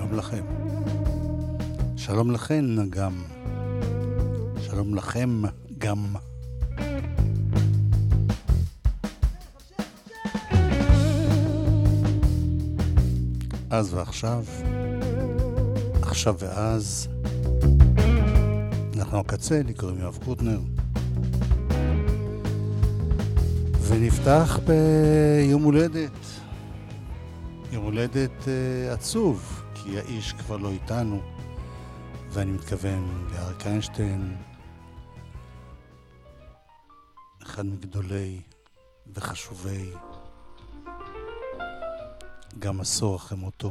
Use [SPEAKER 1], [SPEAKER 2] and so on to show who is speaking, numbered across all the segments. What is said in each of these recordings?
[SPEAKER 1] שלום לכם. שלום לכן גם. שלום לכם גם. אז ועכשיו, עכשיו ואז, אנחנו הקצה, לי קוראים יואב קוטנר. ונפתח ביום הולדת. יום הולדת עצוב, כי האיש כבר לא איתנו, ואני מתכוון לאריק איינשטיין, אחד מגדולי וחשובי גם עשור אחרי מותו.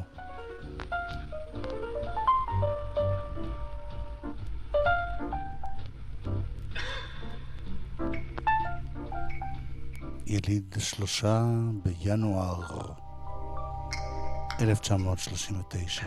[SPEAKER 1] יליד 3 בינואר 1939.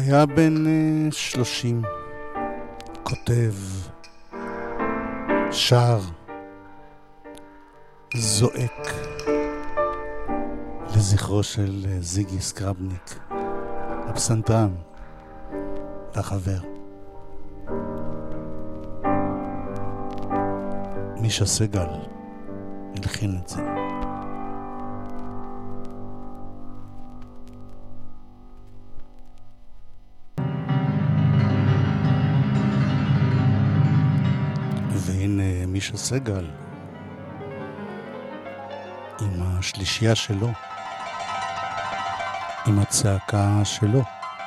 [SPEAKER 1] היה בן 30, כותב, שר, זועק לזכרו של זיגי סקרבניק, הפסנתרן והחבר. מישה סגל הלחין את זה. והנה מישה סגל עם השלישייה שלו, עם הצעקה שלו.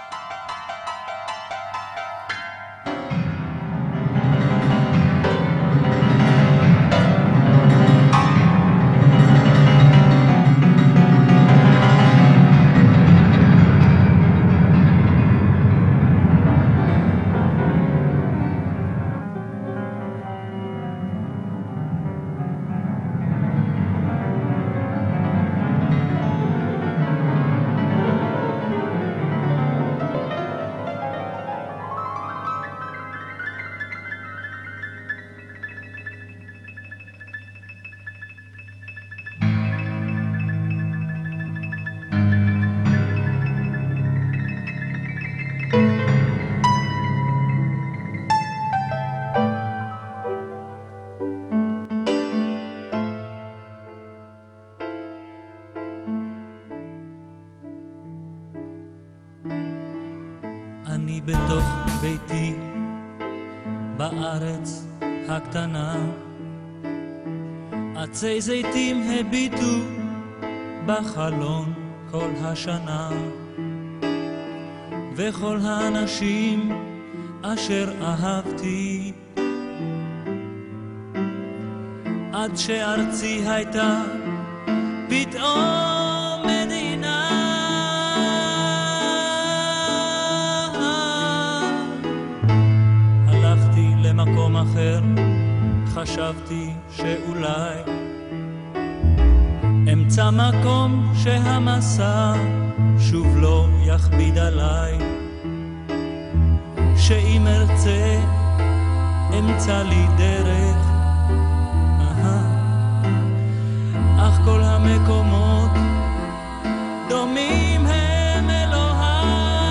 [SPEAKER 2] אני בתוך ביתי בארץ הקטנה, עצי זיתים הביטו בחלון כל השנה, וכל האנשים אשר אהבתי, עד שארצי הייתה פתאום מדינה. הלכתי למקום אחר, חשבתי שאולי אמצא מקום שהמסע שוב לא יכביד עליי, שאם ארצה אמצא לי דרך, אך כל המקומות דומים הם אלוהי.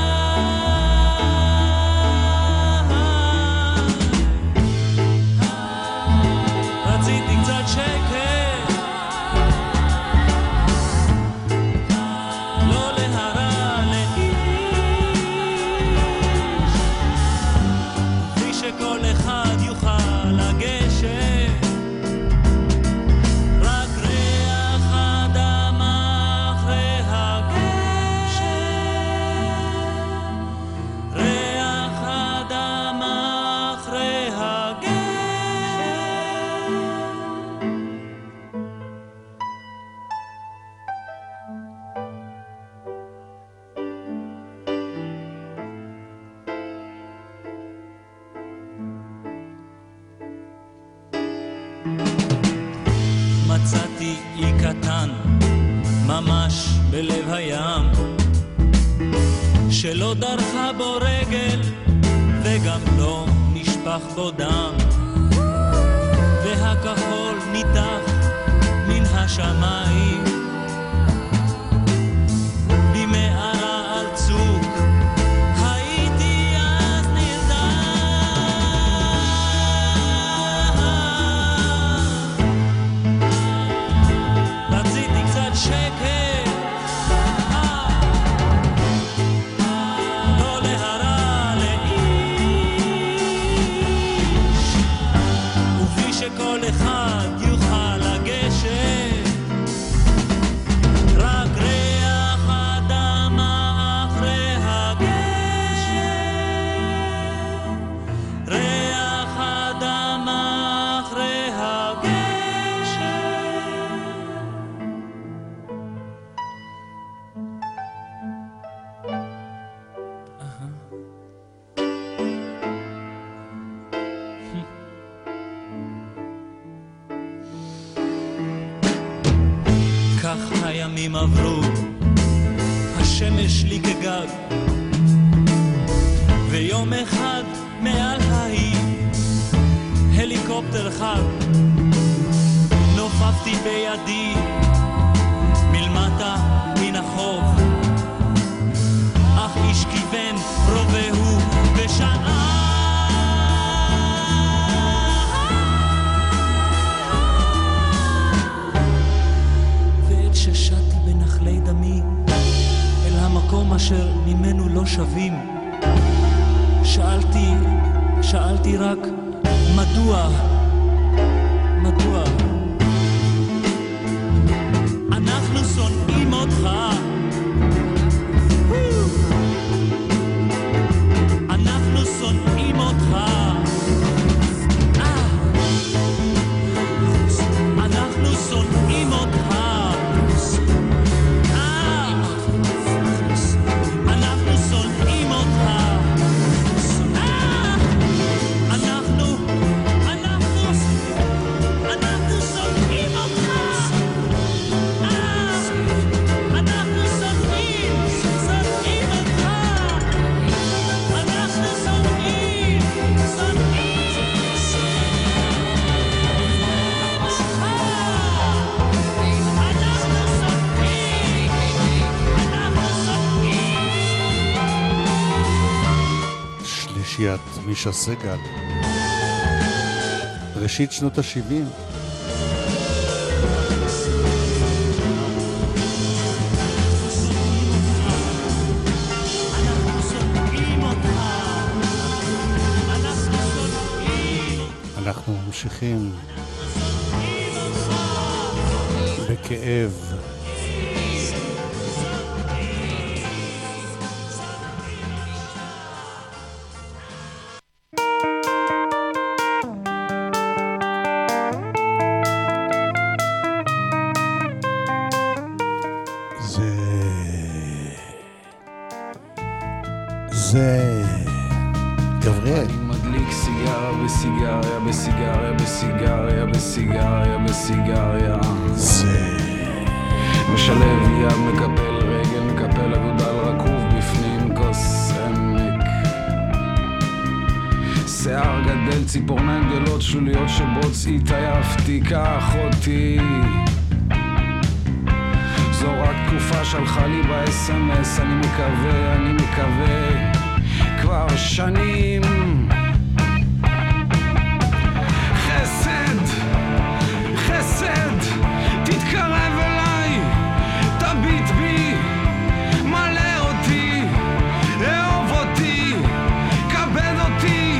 [SPEAKER 2] רציתי קצת שקט, לא להרע לאיש, בלי שכל אחד יוכל לגשת, רק ריח אדמה אחרי הגשם, ריח אדמה אחרי הגשם. מצאתי אי קטן ממש בלב הים, שלא דרכה בו רגל וגם לא נשפך בו דם, והכחול ניתח מן השמיים במערה על צוק. הייתי אז נרדם, רציתי קצת שקט, לא להרע לאיש, ובלי שכל אחד יוכל לגשת, רק ריח אדמה אחרי הגשם, ריח אדמה אחרי הגשם. כך הימים עברו, השמש לי כגג, ויום אחד מעל העיר הליקופטר חד נופפתי בידי מלמטה מן החוף, אך איש כיוון רובהו ושעה ועת ששטתי בנחלי דמי אל המקום אשר ממנו לא שבים, שאלתי רק מדוע אנחנו שונאים אותך, אנחנו שונאים אותך, אנחנו שונאים אותך, אנחנו שונאים אותך,
[SPEAKER 1] שלישיית מישה סגל, ראשית שנות ה-70. אנחנו ממשיכים בכאב. זה גבריאל.
[SPEAKER 3] אני מדליק סיגריה בסיגריה בסיגריה בסיגריה בסיגריה בסיגריה,
[SPEAKER 1] זה
[SPEAKER 3] משלב יד, מקפל רגל, מקפל אגודל רקוב בפנים כוס עמק, שיער גדל, ציפורניים גדולות, שוליות שבוץ, התעייפתי, קח אותי. זו רק תקופה שלחה לי ב-SMS, אני מקווה כבר שנים. חסד, תתקרב אליי, תביט בי, מלא אותי, אהוב אותי, כבד אותי.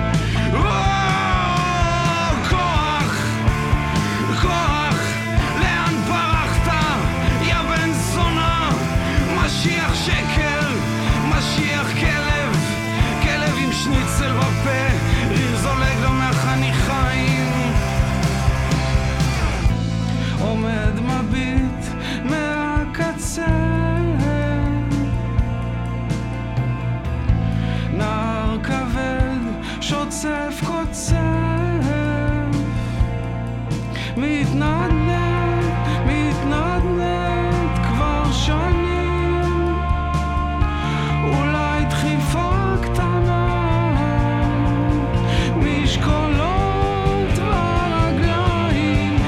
[SPEAKER 3] כוח, לאן פרחת, יא בן זונה, משיח שקר, משיח כלב עם שניצל בפה, ריר זולג לו מהחניכיים, עומד מביט מהקצה, נער כבד שוצף קוצף, מתנדנד כבר שנים, אולי דחיפה קטנה משקולות ברגליים,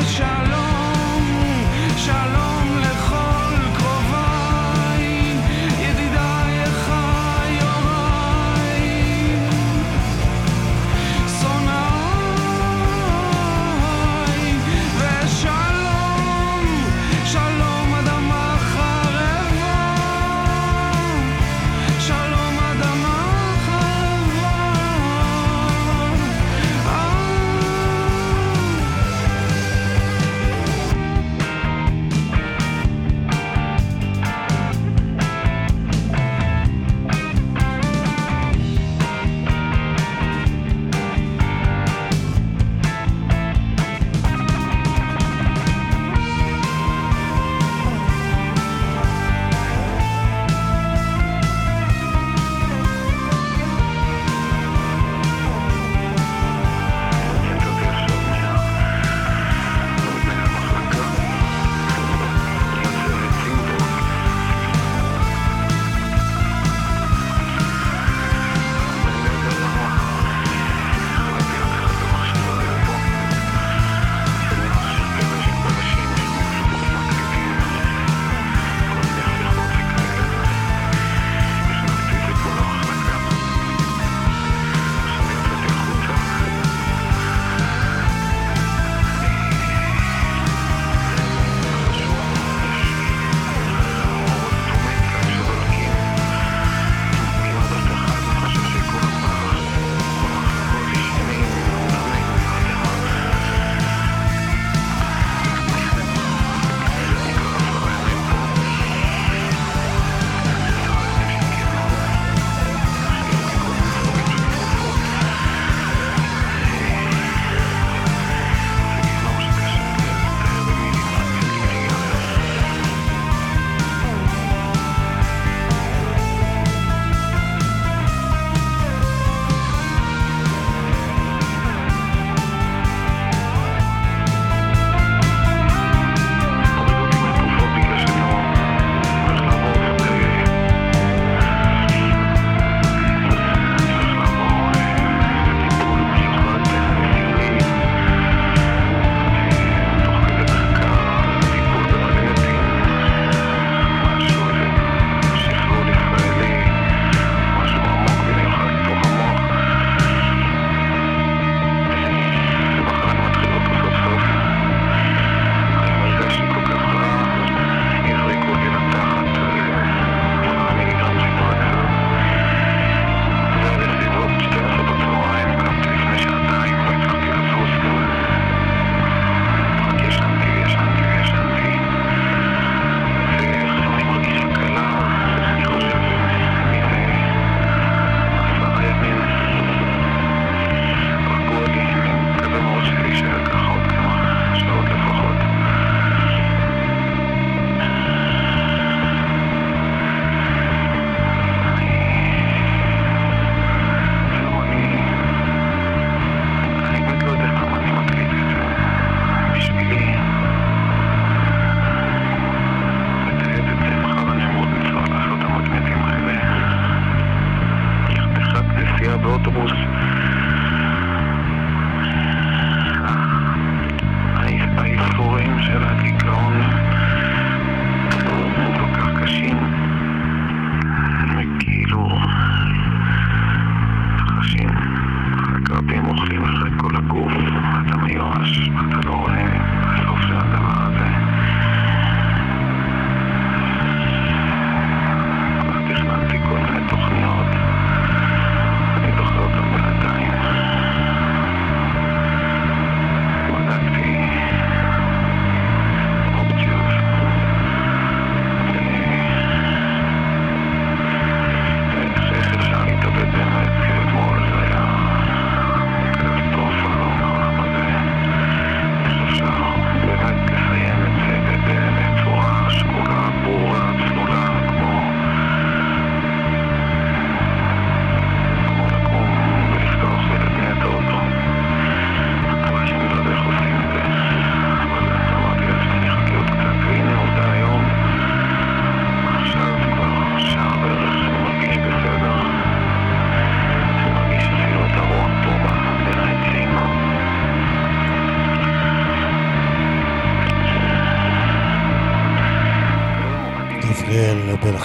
[SPEAKER 3] ושלום לכל קרוביי, ידידיי חיוריי, שונאיי, ושלום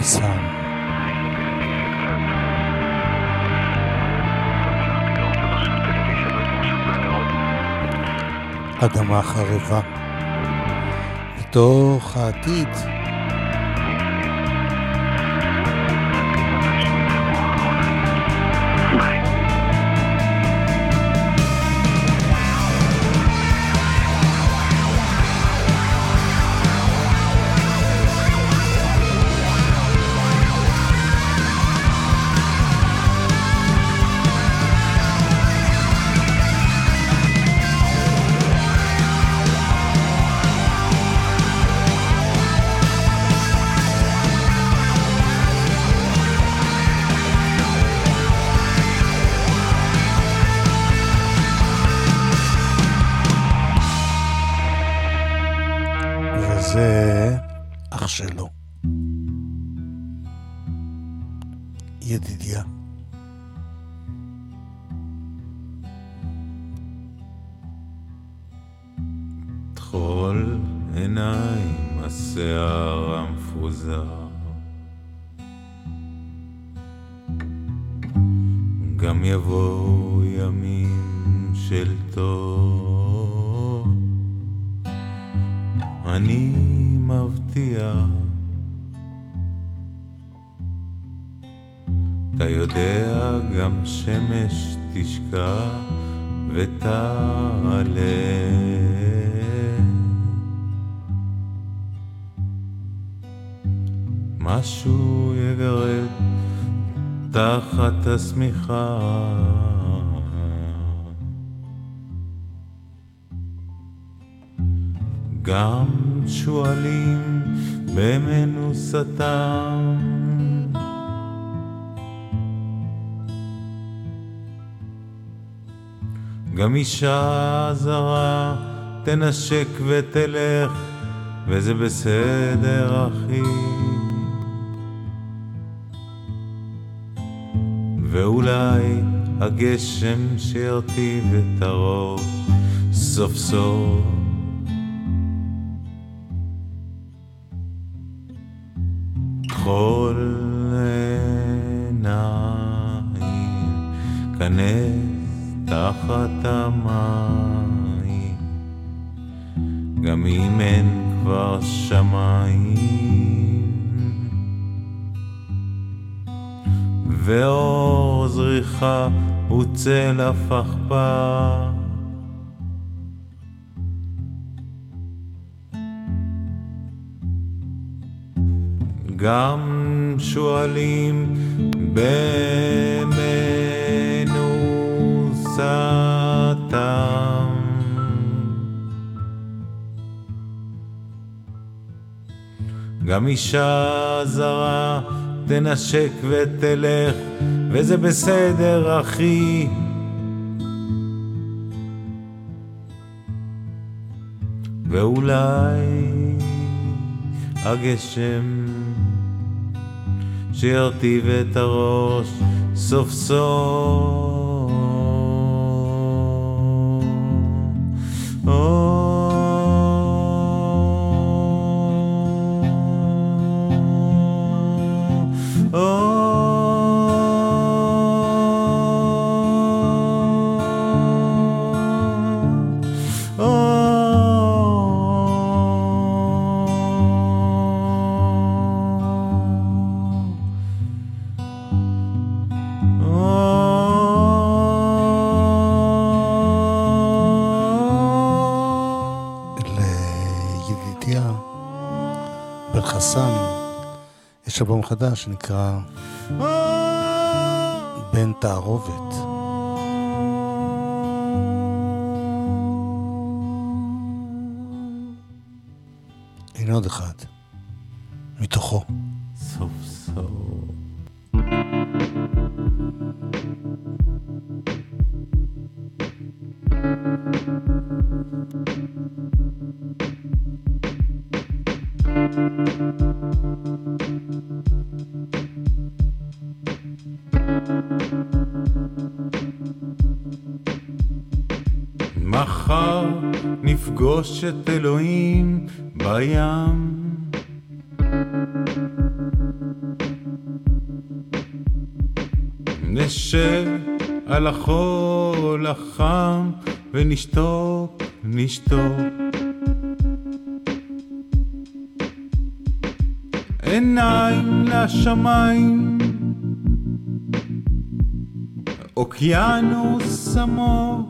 [SPEAKER 1] חסן. אדמה חרבה. מתוך העתיד. זה אח שלו, ידידיה.
[SPEAKER 4] תחול עיניים השיער המפוזר, גם יבואו ימים של טוב, אני מבטיח. אתה יודע גם שמש תשקע ותעלה, משהו יגרד תחת השמיכה, גם שואלים במנוסתם, גם אישה זרה תנשק ותלך, וזה בסדר אחי, ואולי הגשם שירטיב את הראש סוף סוף, כל עיניים כנס תחת המים, גם אם אין כבר שמיים, ואור זריחה הוא צל הפכפך, גם שואלים במנוסתם, גם אישה זרה תנשק ותלך, וזה בסדר אחי, ואולי הגשם שירטיב את הראש סוף סוף,
[SPEAKER 1] יש אלבום חדש שנקרא בן תערובת. הנה עוד אחד מתוכו.
[SPEAKER 4] סוף סוף מחר נפגוש את אלוהים בים, נשב על החול החם ונשתוק, נשתוק. עיניים לשמיים, אוקיינוס עמוק.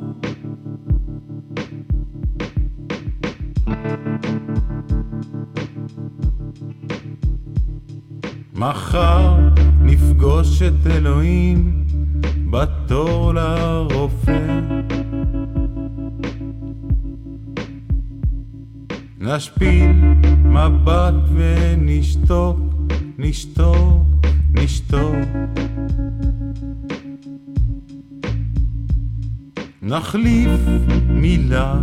[SPEAKER 4] מחר נפגוש את אלוהים בתור לרופא. נשפיל מבט ונשתוק, נשתוק, נשתוק. נחליף מילה,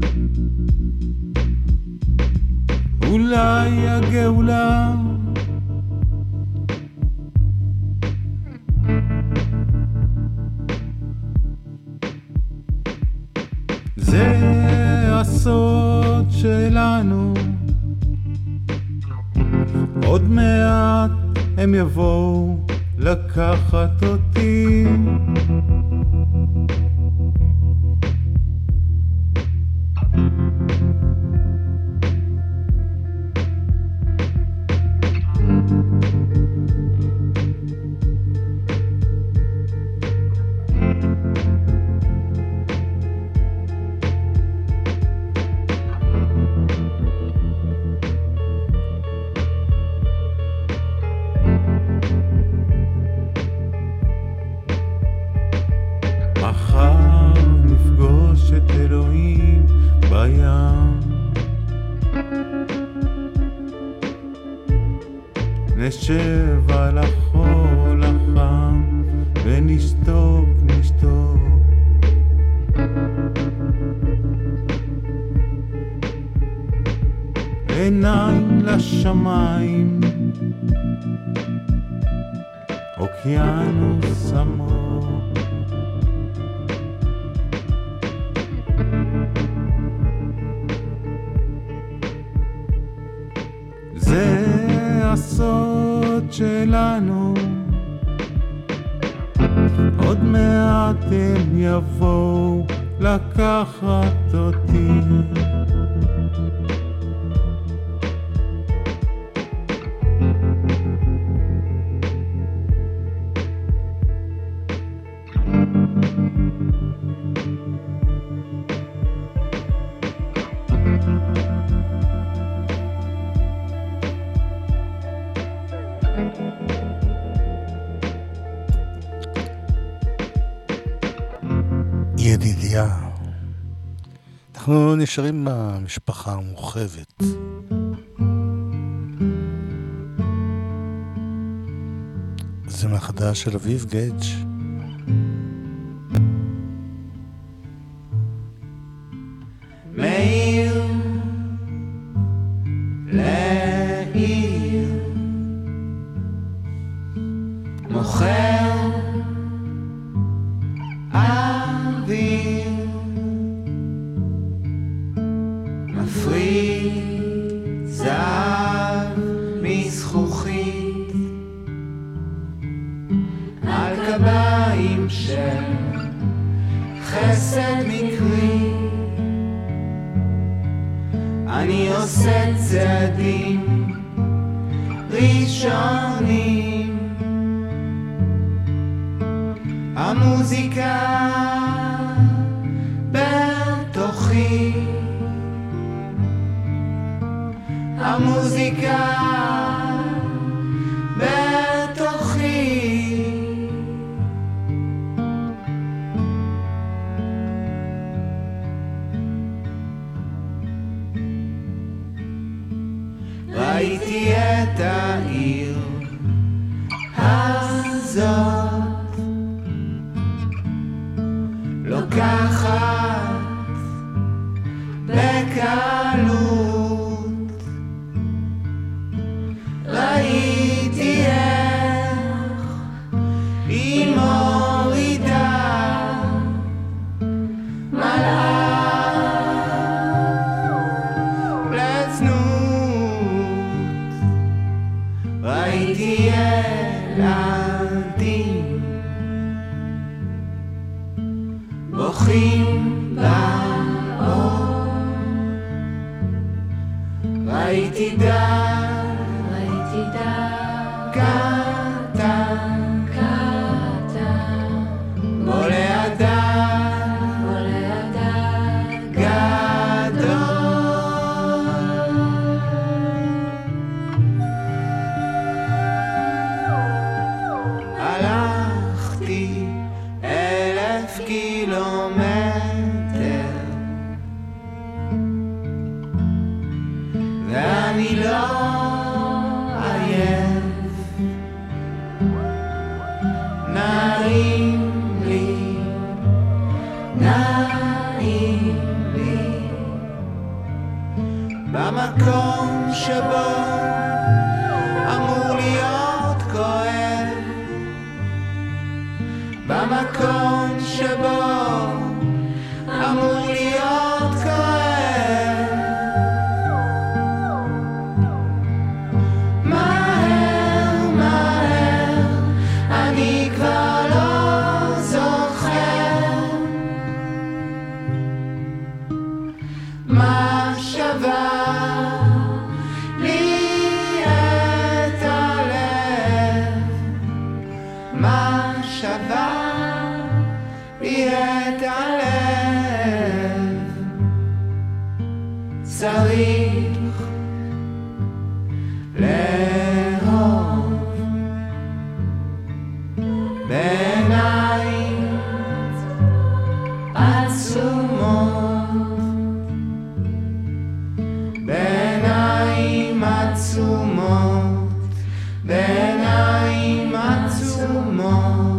[SPEAKER 4] אולי הגאולה. זה הסוד שלנו, עוד מעט הם יבואו לקחת אותי. מחר נפגוש את אלוהים בים, נשב על החול החם ונשתוק, נשתוק. עיניים לשמיים, אוקיינוס עמוק. זה הסוד שלנו, עוד מעט הם יבואו לקחת אותי.
[SPEAKER 1] ידידיה, אנחנו נשארים במשפחה המורחבת. זה מהחדש של אביב גדג'.
[SPEAKER 5] מעיר לעיר, מוכר אוויר, מפריד זהב מזכוכית על קביים של חסד מקרי. אני עושה צעדים ראשונים, המוזיקה בתוכי, המוזיקה בתוכי. ראיתי את העיר הזאת לוקחת בקלות, ראיתי איך היא מורידה מלאך לצנות, ראיתי ילדים לאור. ראיתי דג, ראיתי דג, קטן, קטן, בולע דג, בולע דג, גדול. הלכתי 1000 קילומטר ואני לא עייף, נעים לי, נעים לי, במקום שבו אמור להיות כואב, במקום שבו אמור להיות כואב. מהר, מהר, אני כבר לא זוכר מה שווה לי את הלב, מה שווה לי את הלב. צריך לאהוב בעיניים עצומות, בעיניים עצומות, בעיניים עצומות.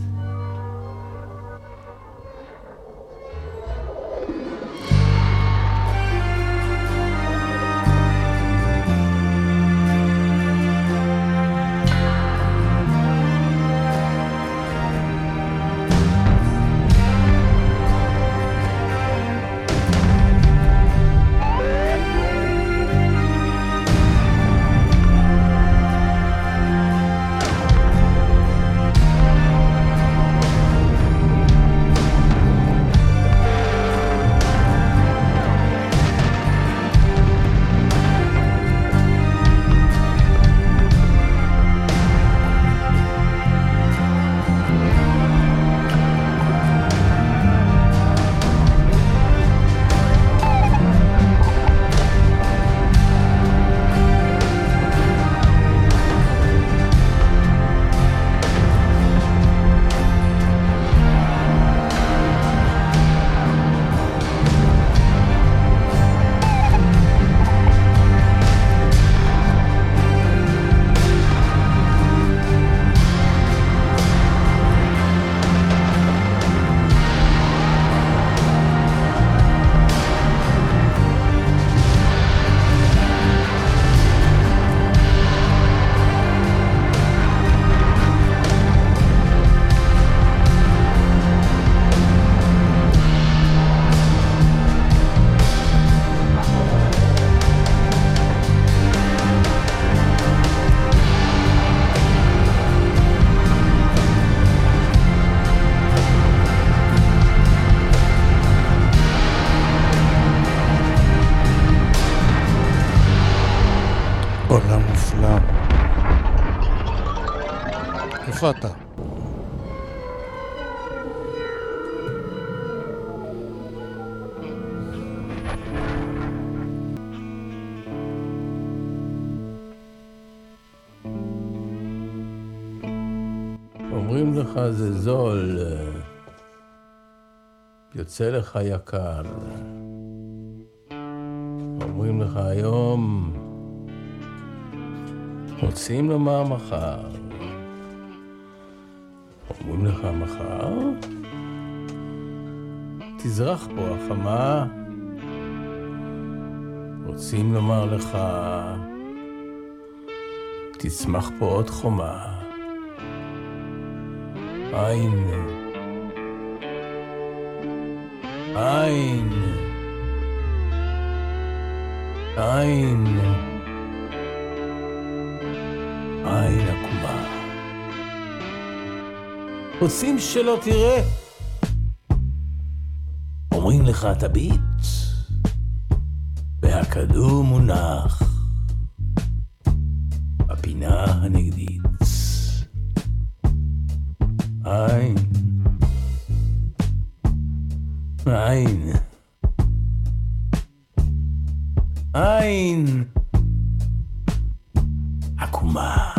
[SPEAKER 1] עולם מופלא. איפה אתה?
[SPEAKER 6] אומרים לך זה זול, יוצא לך יקר. אומרים לך היום, רוצים לומר מחר. אומרים לך מחר, תזרח פה החמה. רוצים לומר לך, תצמח פה עוד חומה. עין, עין, עין, עין עקומה. רוצים שלא תראה? אומרים לך תביט, והכדור מונח בפינה הנגדית. עין, עין, עין עקומה.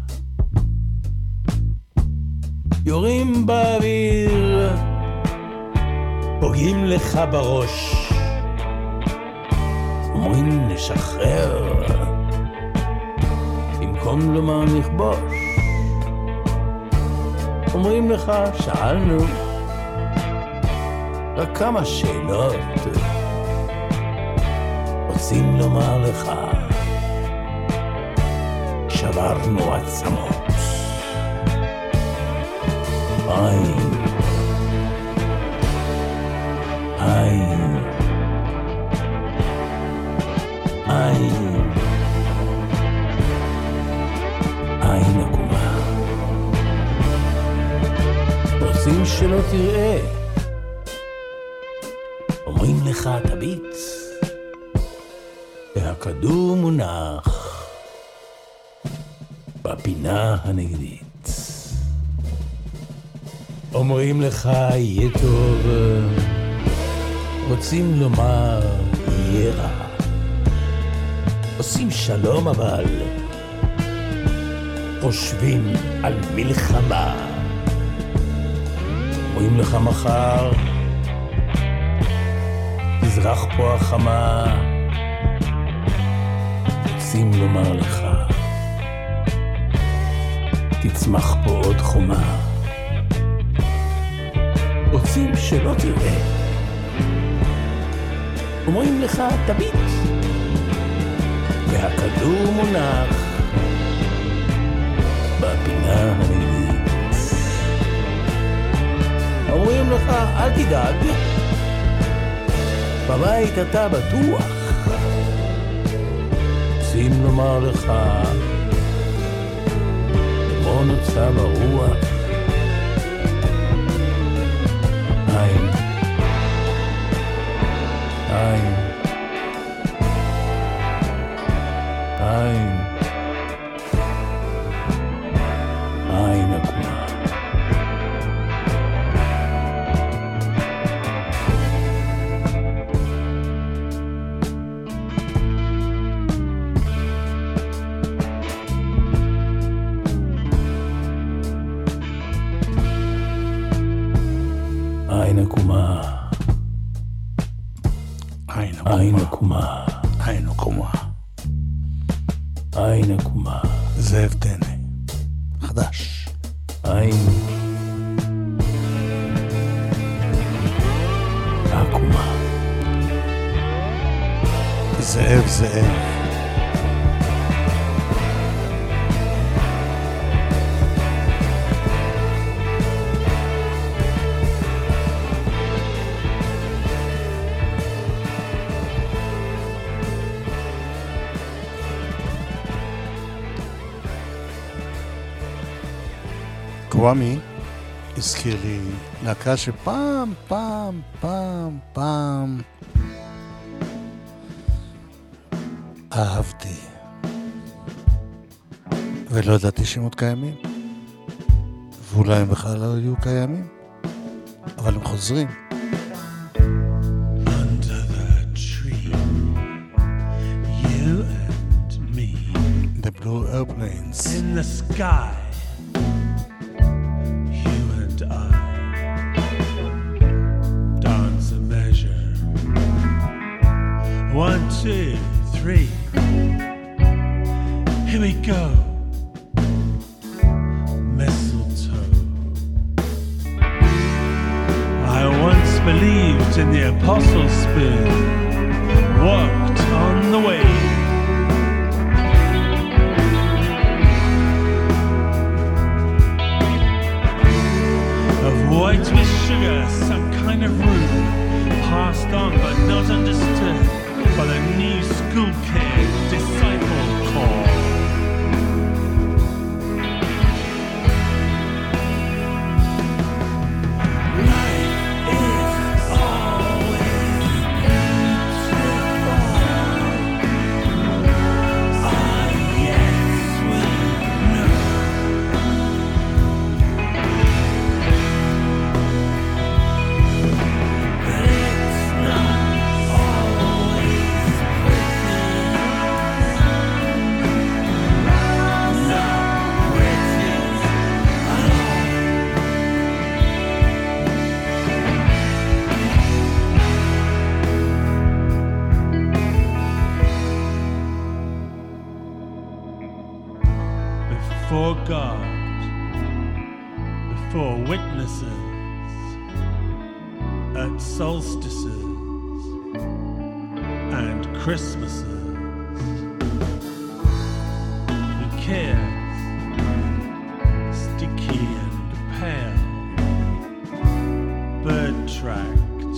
[SPEAKER 6] יורים באוויר, פוגעים לך בראש, אומרים לשחרר, במקום לומר נכבוש. אומרים לך שאלנו רק כמה שאלות, רוצים לומר לך שברנו עצמות. עין, עין, עין, עין עקומה. רוצים שלא תראה, אומרים לך תביט, והכדור מונח בפינה הנגדית. אומרים לך יהיה טוב, רוצים לומר יהיה רע. עושים שלום אבל חושבים על מלחמה. אומרים לך מחר תזרח פה החמה. רוצים לומר לך תצמח פה עוד חומה. רוצים שלא תראה, אומרים לך תביט, והכדור מונח בפינה הנגדית. אומרים לך אל תדאג, בבית אתה בטוח. רוצים לומר לך כמו נוצה ברוח. עין, עין, עין, עין עקומה. עין עקומה. עין עקומה.
[SPEAKER 1] עין עקומה.
[SPEAKER 6] עין עקומה.
[SPEAKER 1] זאב טנא. חדש.
[SPEAKER 6] עין עקומה.
[SPEAKER 1] זאב זאב. קוואמי הזכיר לי להקה שפעם אהבתי ולא ידעתי שהם עוד קיימים, ואולי הם בכלל לא היו קיימים, אבל הם חוזרים.
[SPEAKER 7] Under the tree, you and me.
[SPEAKER 1] The Blue Airplanes.
[SPEAKER 7] In the sky, you and I. Dance a measure. 1, 2, 3. Here we go. Mistletoe. I once believed in the apostle spoon. Walked on the way. Of white with sugar, some kind of roux. Passed on but not understood by the new school kid disciple corps. Life is always before God, before witnesses, at solstices and Christmases. Who cares? Sticky and pale, bird tracked,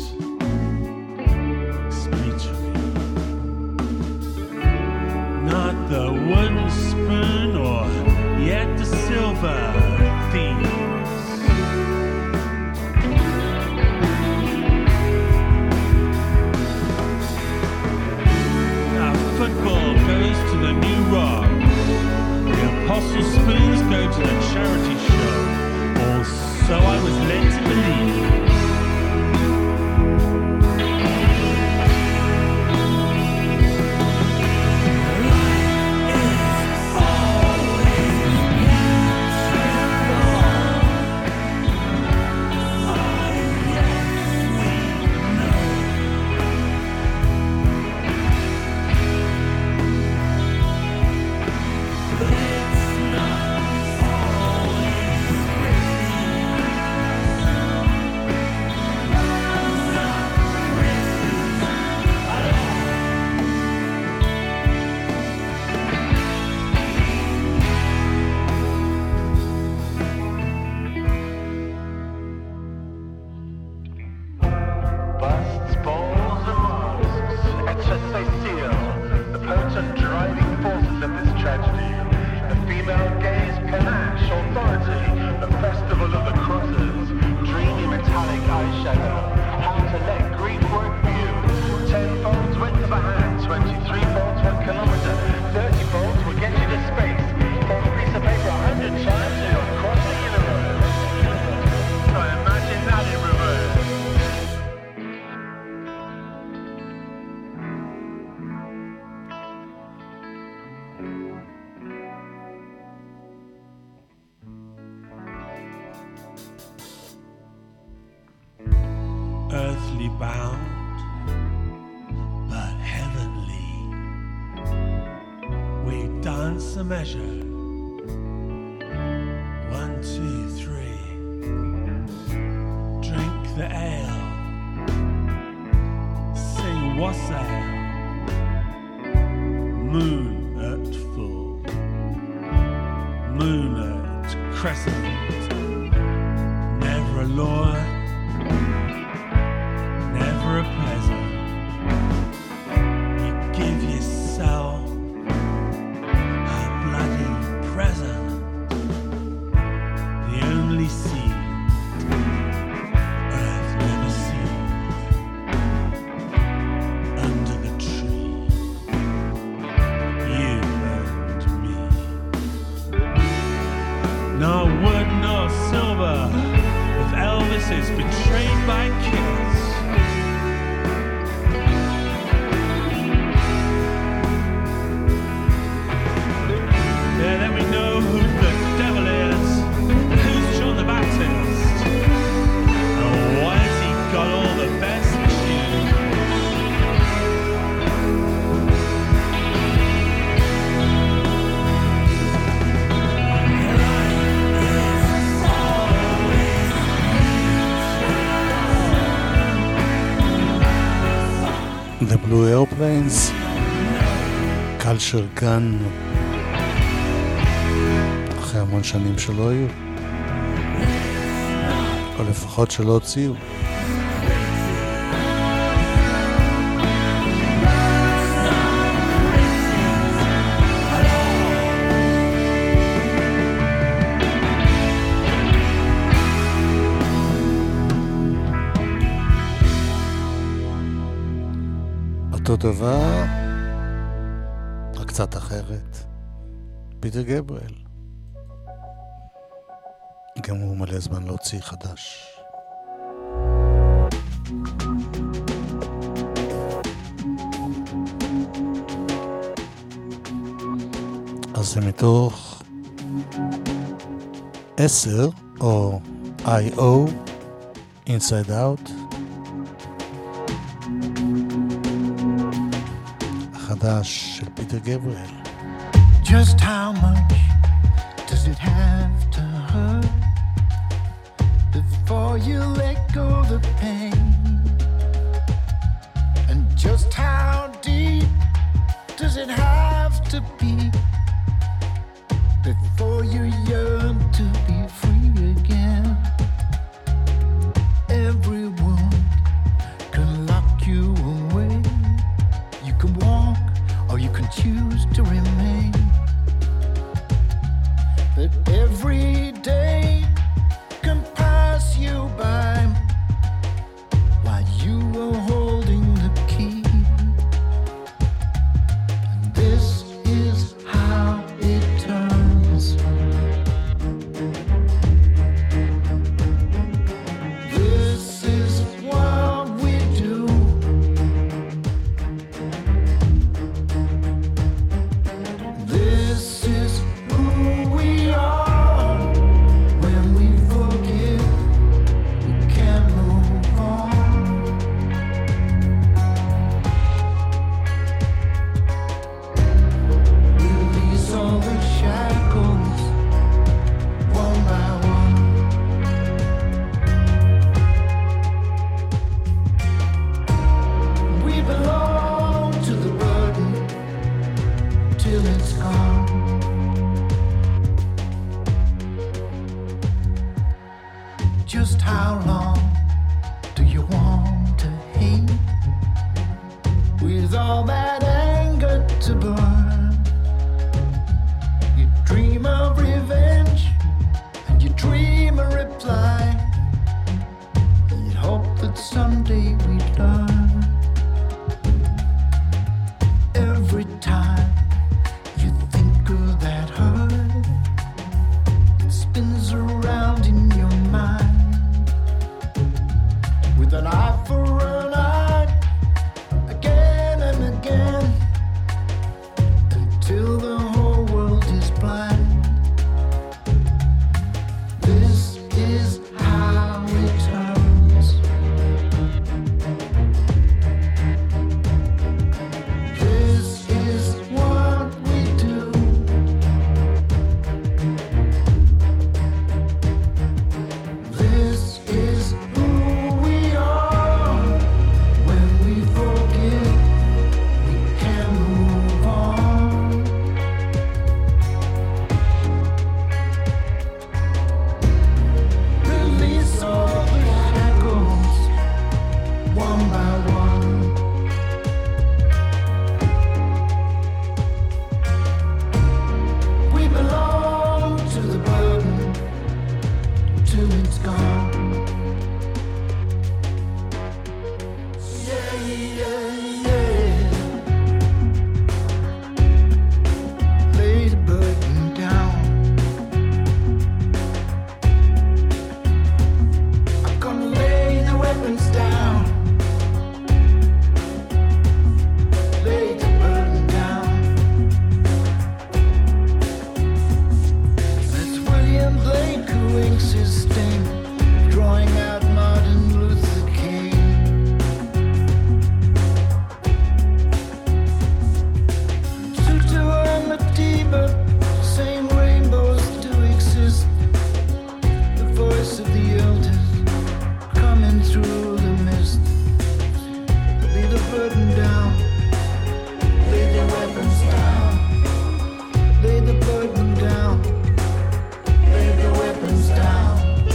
[SPEAKER 7] expiatory. Not the wooden spoon or yet the silver thieves. Our football goes to the New Rock. The apostle spoons go to the charity show. Or so I was led to believe. Earthly bound, but heavenly. We dance a measure. 1, 2, 3. Drink the ale. Sing wassail. Moon at full. Moon at crescent. Never a lure. Never a pleasure. You give yourself a bloody present. The only seed Earth never sees. Under the tree, you and me. Nor wood nor silver, if Elvis is betrayed by Kiss. Then we know who the devil is, and who's John the Baptist, and why has he got all the best tunes?
[SPEAKER 1] The Blue Airplanes, Culture Gun, אחרי המון שנים שלא היו, או לפחות שלא הוציאו. אותו דבר, רק קצת אחרת. פיטר גבריאל. גם הוא מלא זמן להוציא חדש. אז זה מתוך 10 או I.O. Inside Out. החדש של פיטר גבריאל.
[SPEAKER 8] Just how much does it have to hurt before you let go the pain? And just how deep does it have to be before you yearn to be free again? Every wound can lock you away. You can walk or you can choose to remain. But every day can pass you by while you are holding the key. And this is how it turns. This is what we do. This is who we are. When we forgive, we can move on. Release all the shackles, one by one. We belong to the burden till it's gone. Just how long do you want to hate with all that anger to burn? You dream of revenge and you dream a reply. You hope that someday we'd learn. Every time you think of that hurt, it spins around in your mind with an eye for an eye, again and again, until the whole world is blind. This is how it turns. This is what we do. This is who we are. When we forgive, we can move on. Release all the shackles, one by one. We belong to the burden till it's gone. Yeah, yeah, yeah. Lay the burden down. I'm gonna lay the weapons down. Lay the burden down. That's William Blake who inks his sting, drawing out Martin Luther King. Tutu and Madiba, same rainbows do exist. The voice of the elders coming through the mist. Lay the burden down. Lay the weapons down. Lay the burden down. Lay the weapons down.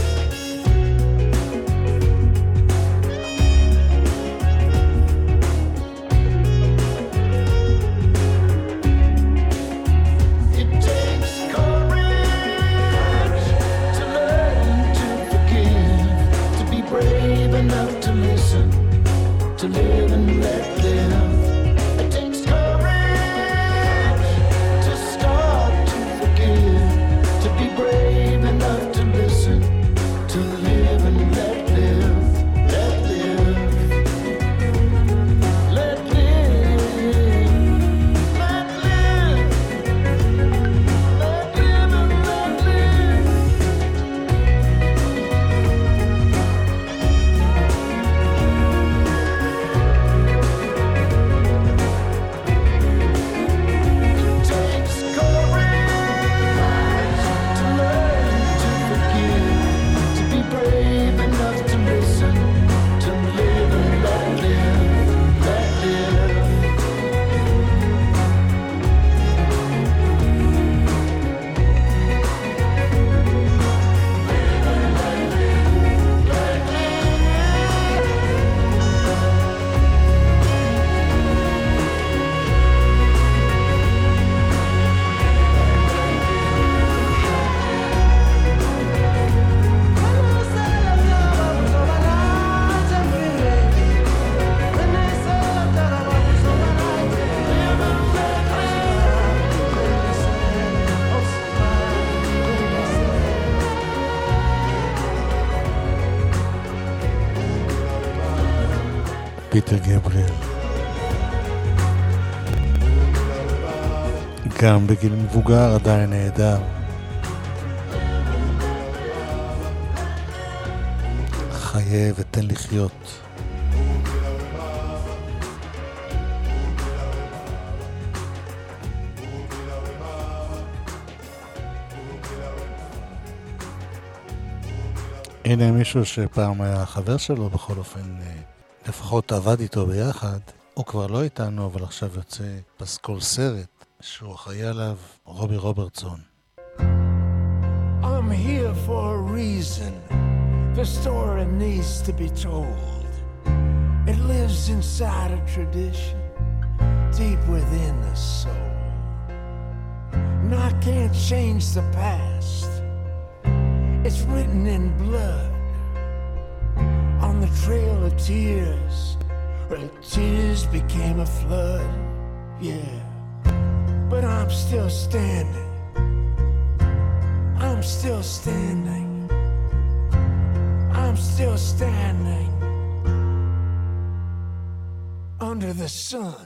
[SPEAKER 8] It takes courage to learn to forgive, to be brave enough to listen, to live and let live. It takes courage to start to forgive, to be brave enough to listen, to live and let live, let live, let live, let live, let live and let live.
[SPEAKER 1] פיטר גבריאל. גם בגיל מבוגר עדיין נהדר. חיה ותן לחיות. הנה מישהו שפעם היה חבר שלו, בכל אופן לפחות עבד איתו ביחד. הוא כבר לא איתנו, אבל עכשיו יוצא פסקול סרט שהוא אחראי עליו, רובי רוברטסון.
[SPEAKER 8] I'm here for a reason. The story needs to be told. It lives inside a tradition, deep within the soul. And I can't change the past. It's written in blood on the trail of tears, where tears became a flood. Yeah, but I'm still standing. I'm still standing. I'm still standing under the sun.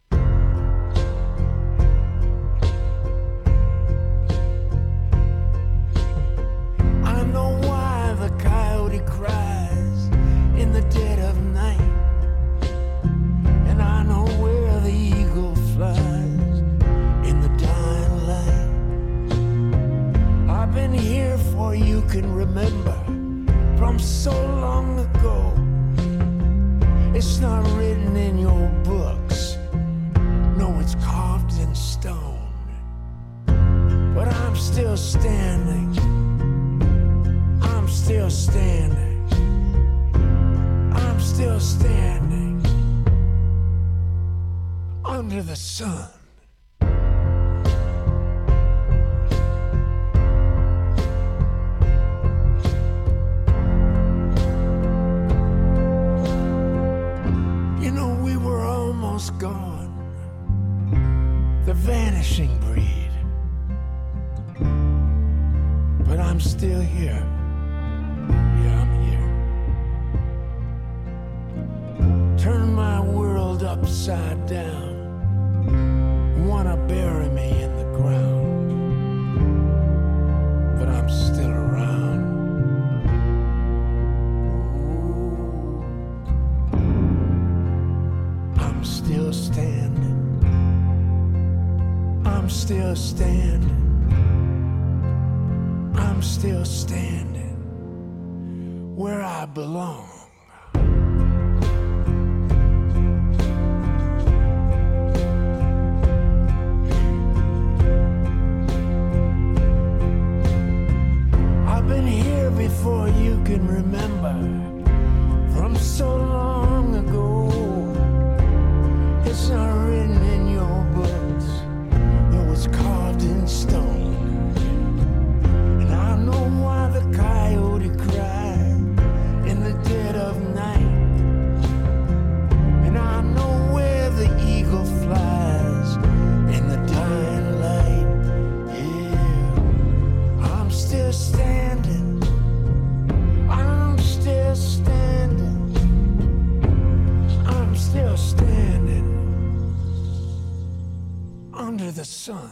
[SPEAKER 8] I know why the coyote cries in the dead of night, and I know where the eagle flies in the dying light. I've been here for you can remember from so long ago. It's not written in your books, no, it's carved in stone. But I'm still standing. I'm still standing. I'm still standing under the sun. You know, we were almost gone, the vanishing breed. But I'm still here. Yeah, I'm here. Turn my world upside down. Wanna bury me in the ground, but I'm still around. Ooh. I'm still standing. I'm still standing. I'm still standing where I belong. I've been here before you can remember, from so long ago. It's not written in your books, though it's carved in stone. And I know why the coyote cried in the dead of night. And I know where the eagle flies in the dying light. Yeah, I'm still standing. I'm still standing. I'm still standing under the sun.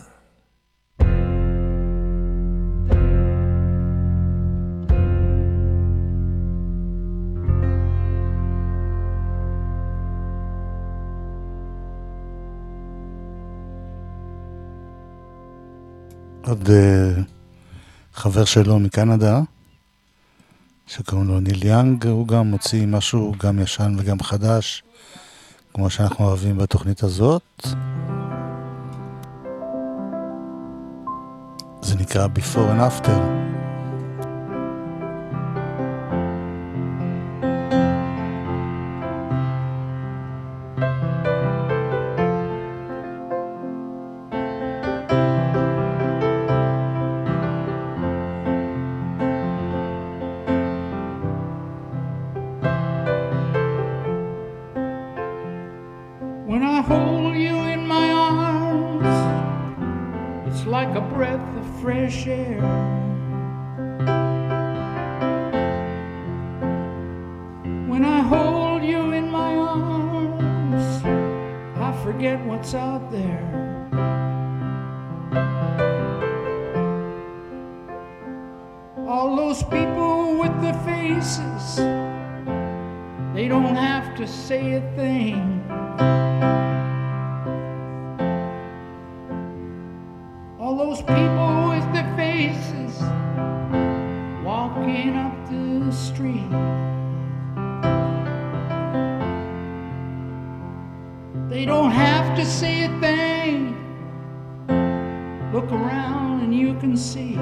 [SPEAKER 1] עוד חבר שלו מקנדה, שקוראים לו ניל יאנג, הוא גם מוציא משהו גם ישן וגם חדש, כמו שאנחנו אוהבים בתוכנית הזאת. זה נקרא Before and After.
[SPEAKER 9] When I hold you in my arms, it's like a breath of fresh air. When I hold you in my arms, forget what's out there. All those people with the faces, they don't have to say a thing. All those people with the faces walking up the street, they don't have to say a thing. Look around and you can see.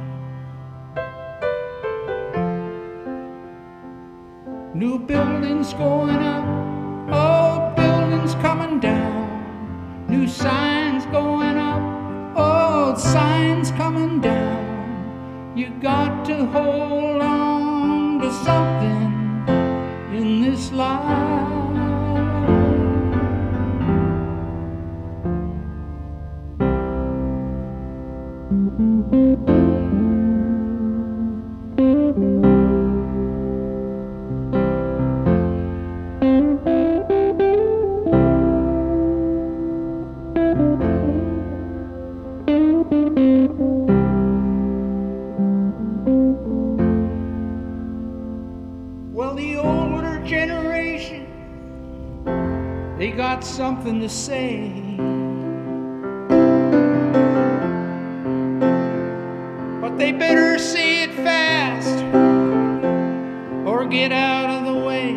[SPEAKER 9] New buildings going up, old buildings coming down. New signs going up, old signs coming down. You got to hold on to something in this life. Something to say, but they better say it fast or get out of the way.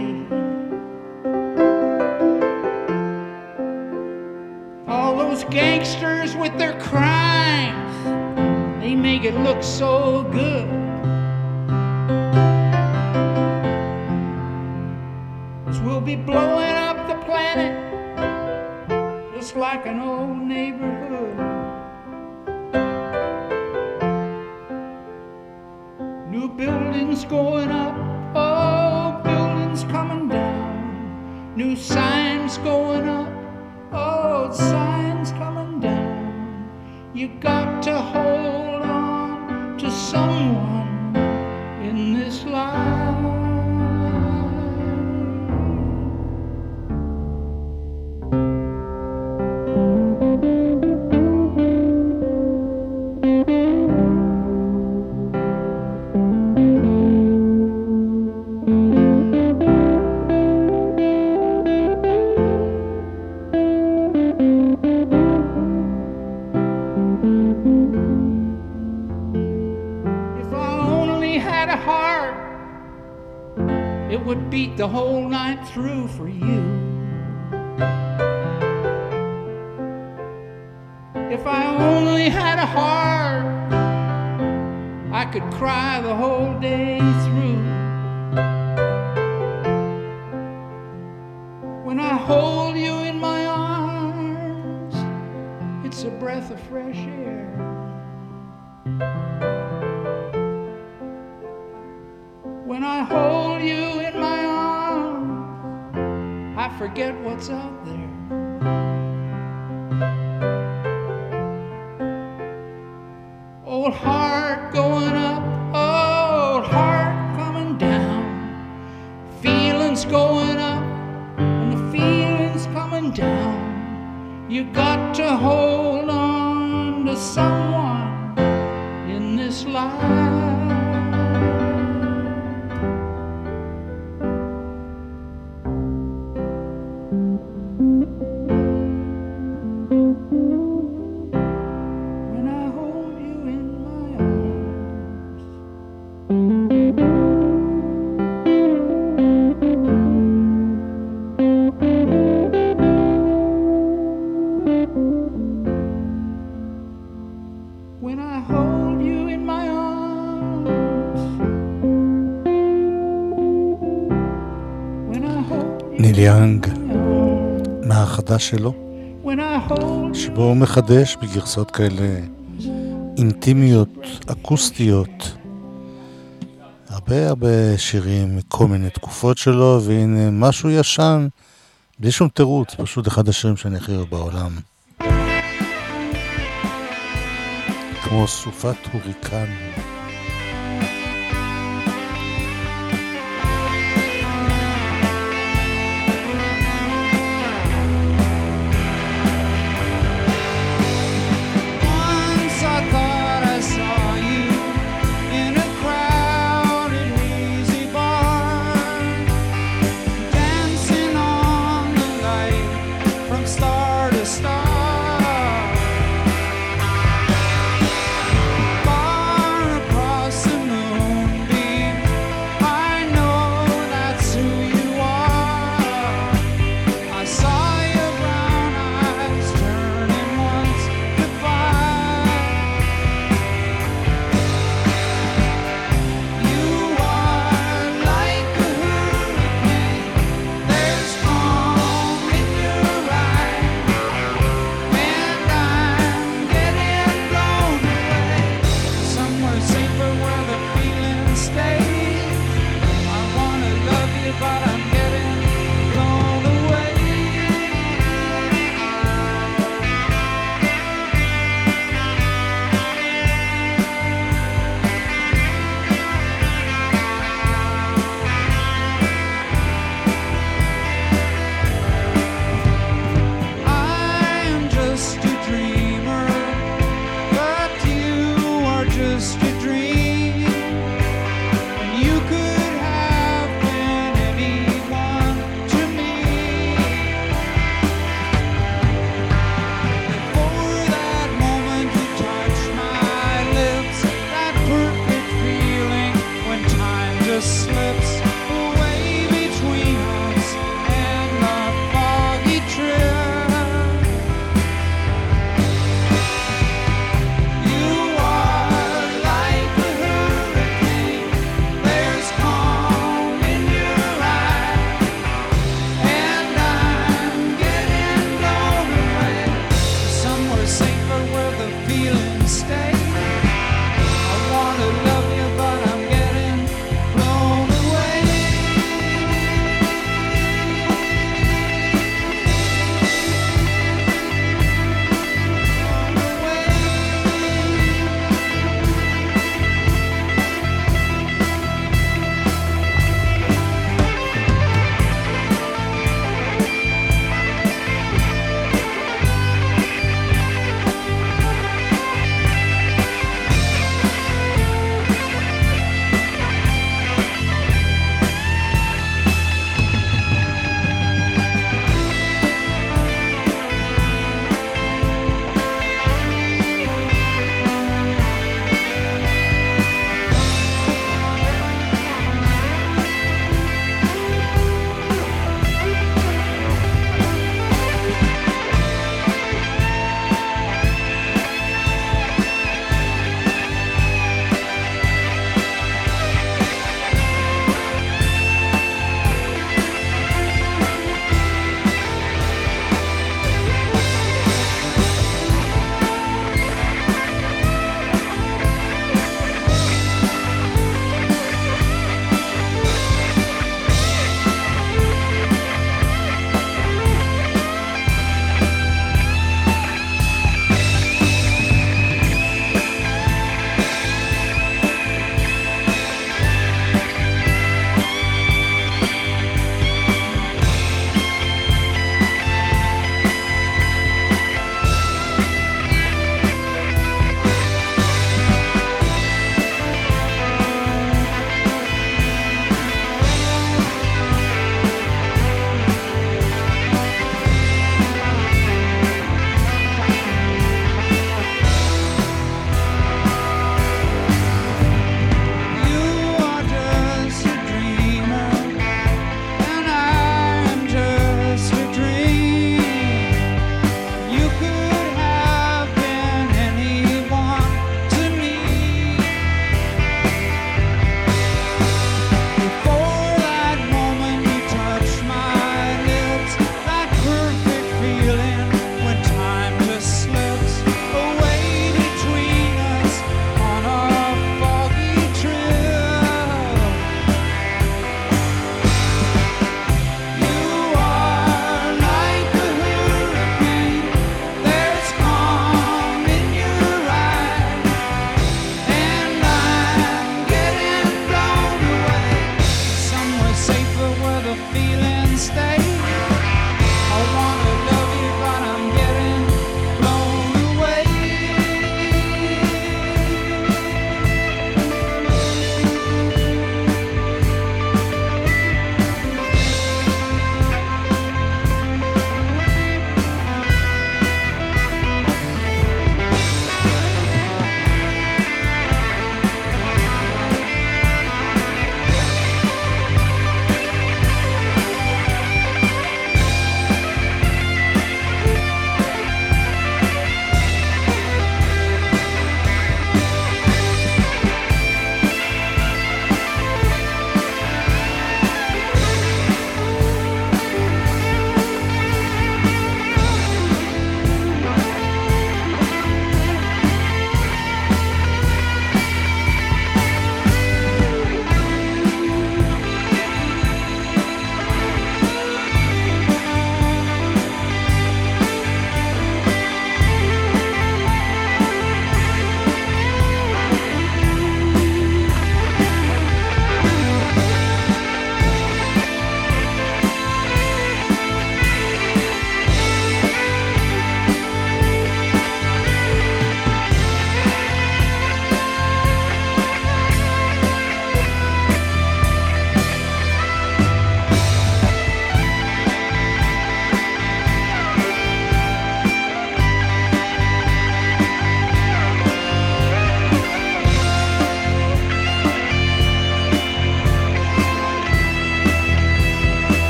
[SPEAKER 9] All those gangsters with their crimes, they make it look so good. 'Cause we'll be blowing up the planet just like an old neighborhood. New buildings going up, old buildings coming down. New signs going up, old signs coming down. You got to hold on to someone in this life. Beat the whole night through for you. If I only had a heart, I could cry the whole day through. When I hold you in my arms, it's a breath of fresh air. When I hold you in my arms, I forget what's out there. Old heart going up, old heart coming down. Feelings going up and the feelings coming down. You got to hold on to someone in this life.
[SPEAKER 1] ניל יאנג מהחדש שלו, שבו הוא מחדש בגרסות כאלה אינטימיות, אקוסטיות, הרבה שירים מכל מיני תקופות שלו, והנה משהו ישן בלי שום תירוץ, פשוט אחד השירים שאני הכי אוהב בעולם, כמו סופת הוריקן.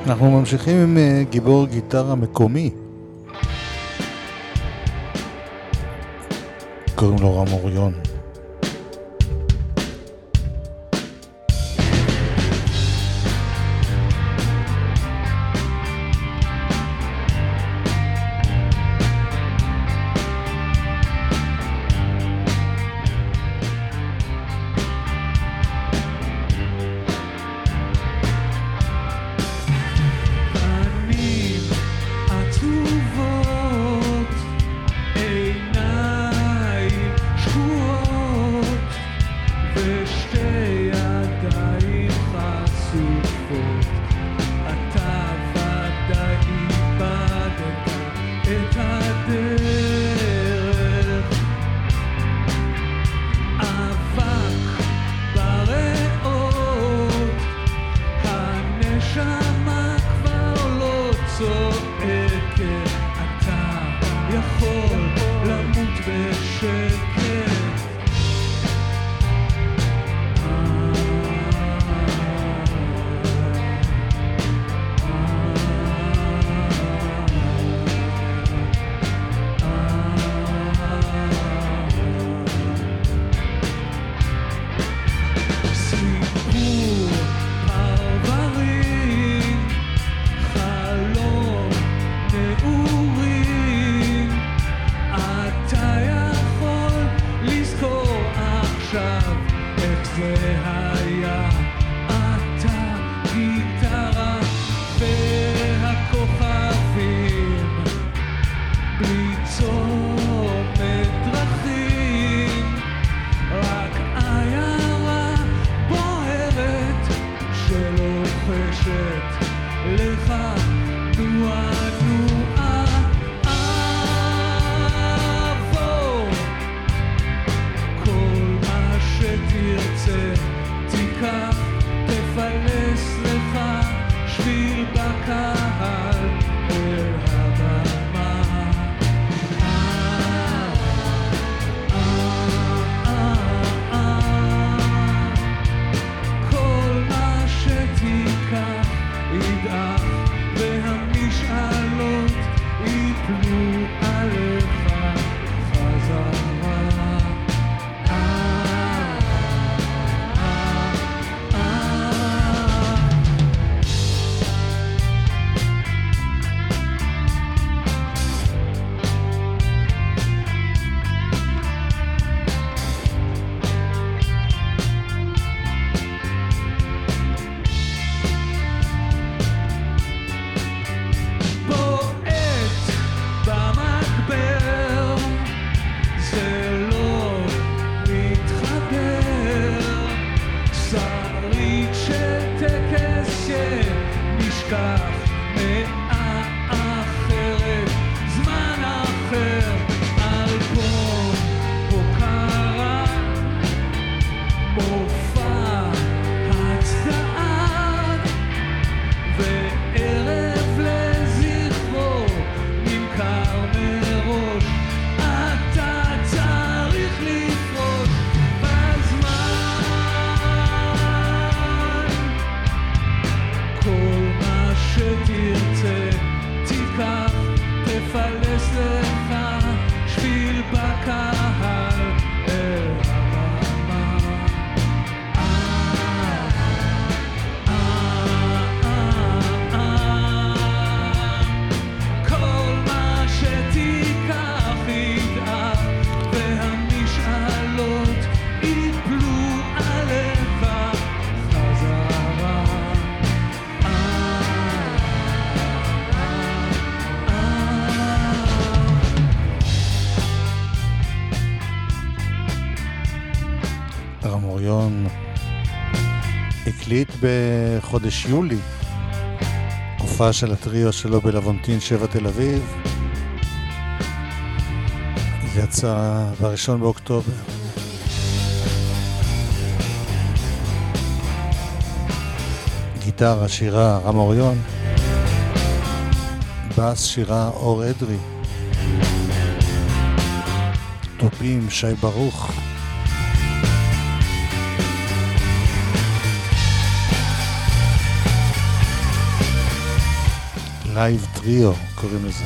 [SPEAKER 1] אנחנו ממשיכים עם גיבור גיטרה מקומי. קוראים לו רם אוריון. הקליט בחודש יולי הופעה של הטריו שלו בלוונטין 7 תל אביב. זה יצא ב1 באוקטובר. גיטרה שירה רם אוריון, בס שירה אור אדרי, טופים שי ברוך, לייב טריו קוראים לזה.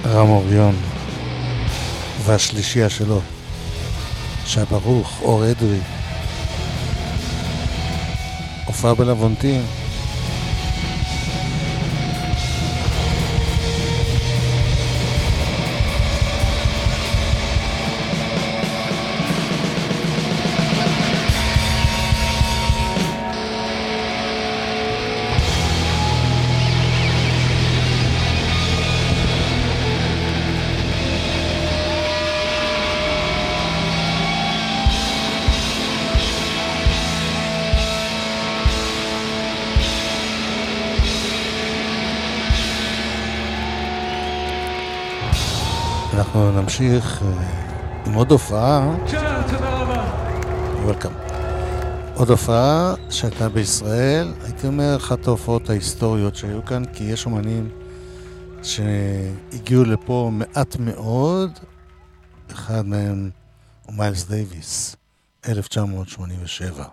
[SPEAKER 1] רם אוריון והשלישייה שלו, שי ברוך, אור אדרי, הופעה בלוונטין. אנחנו נמשיך עם עוד הופעה. וולקאם. עוד הופעה שהייתה בישראל, הייתי אומר אחת ההופעות ההיסטוריות שהיו כאן, כי יש אומנים שהגיעו לפה מעט מאוד. אחד מהם הוא מיילס דייוויס, 1987.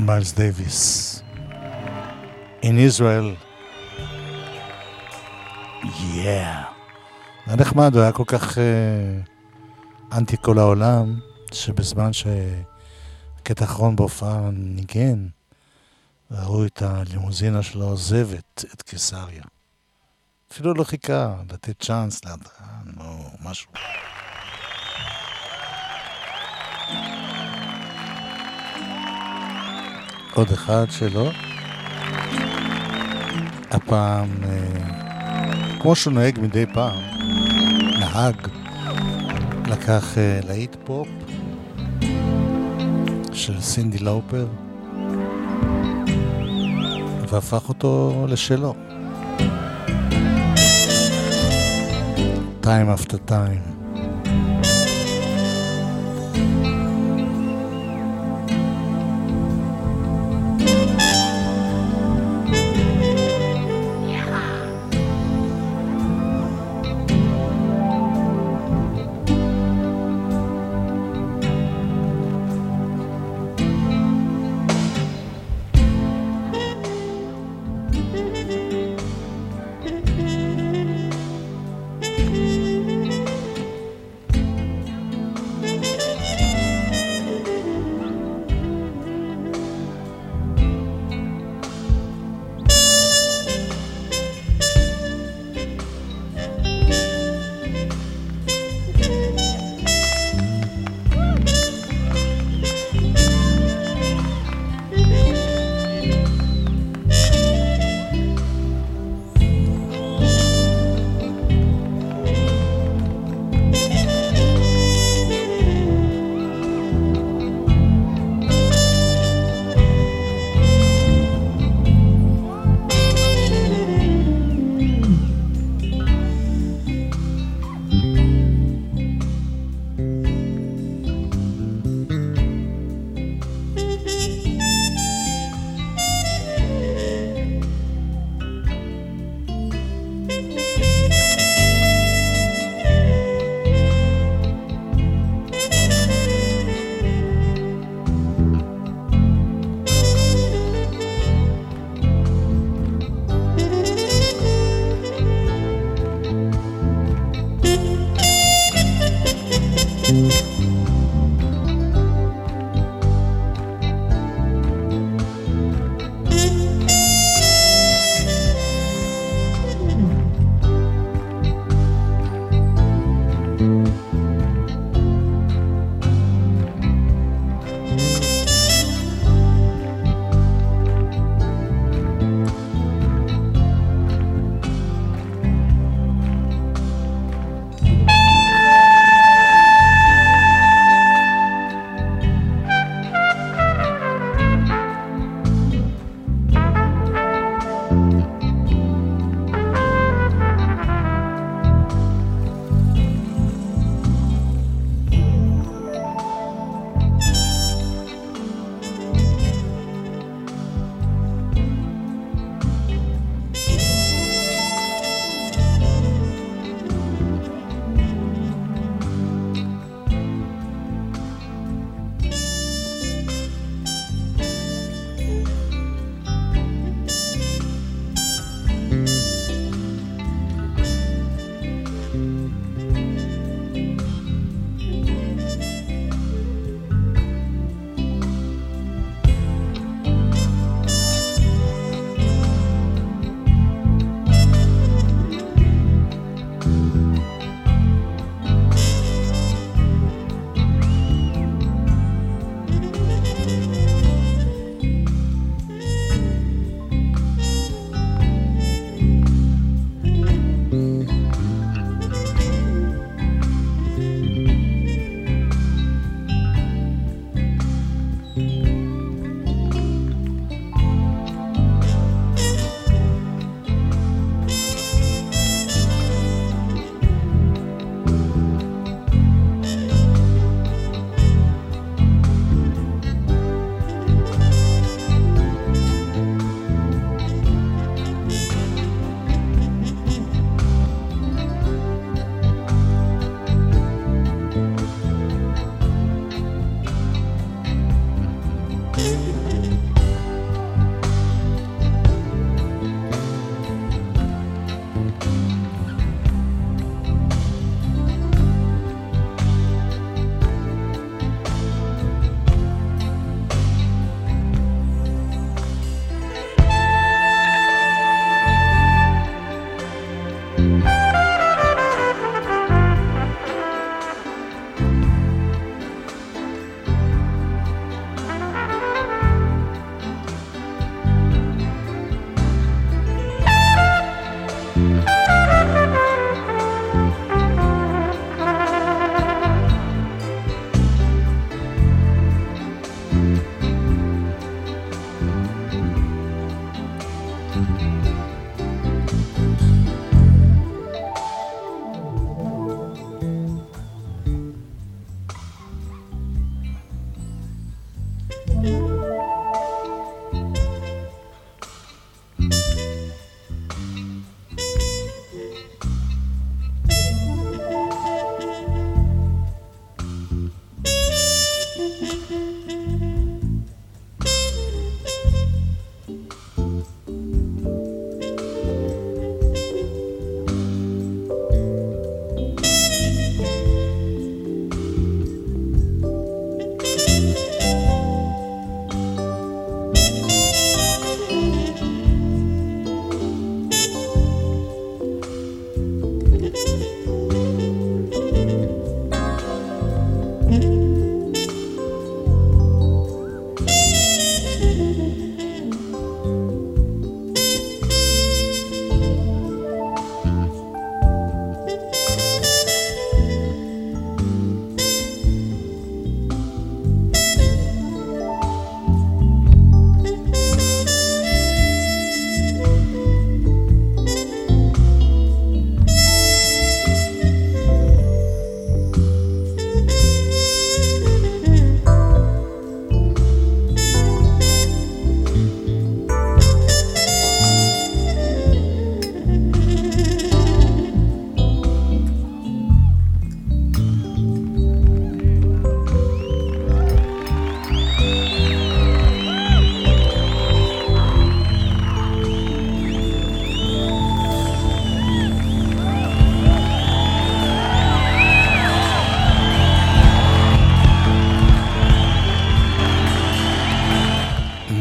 [SPEAKER 1] מיילס דייוויס. In Israel. Yeah. זה נחמד, הוא היה כל כך אנטי כל העולם, שבזמן שהקטע האחרון בהופעה ניגן, ראו את הלימוזינה שלו עוזבת את קיסריה. אפילו לא חיכה לתת צ'אנס להדרן או משהו. עוד אחד שלו. הפעם, כמו שהוא נוהג מדי פעם, נהג לקח להיט פופ של סינדי לאופר והפך אותו לשלו. Time after time.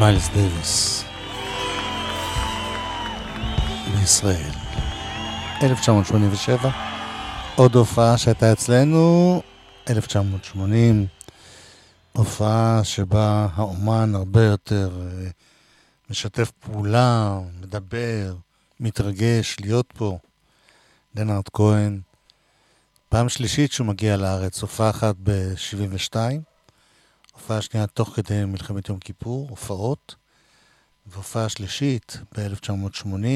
[SPEAKER 1] מיילס דייוויס בישראל 1987. עוד הופעה שהייתה אצלנו 1980, הופעה שבה האומן הרבה יותר משתף פעולה, מדבר, מתרגש להיות פה. לנארד כהן, פעם שלישית שהוא מגיע לארץ, הופעה אחת ב-72, הופעה שנייה תוך כדי מלחמת יום כיפור, הופעות, והופעה שלישית ב-1980,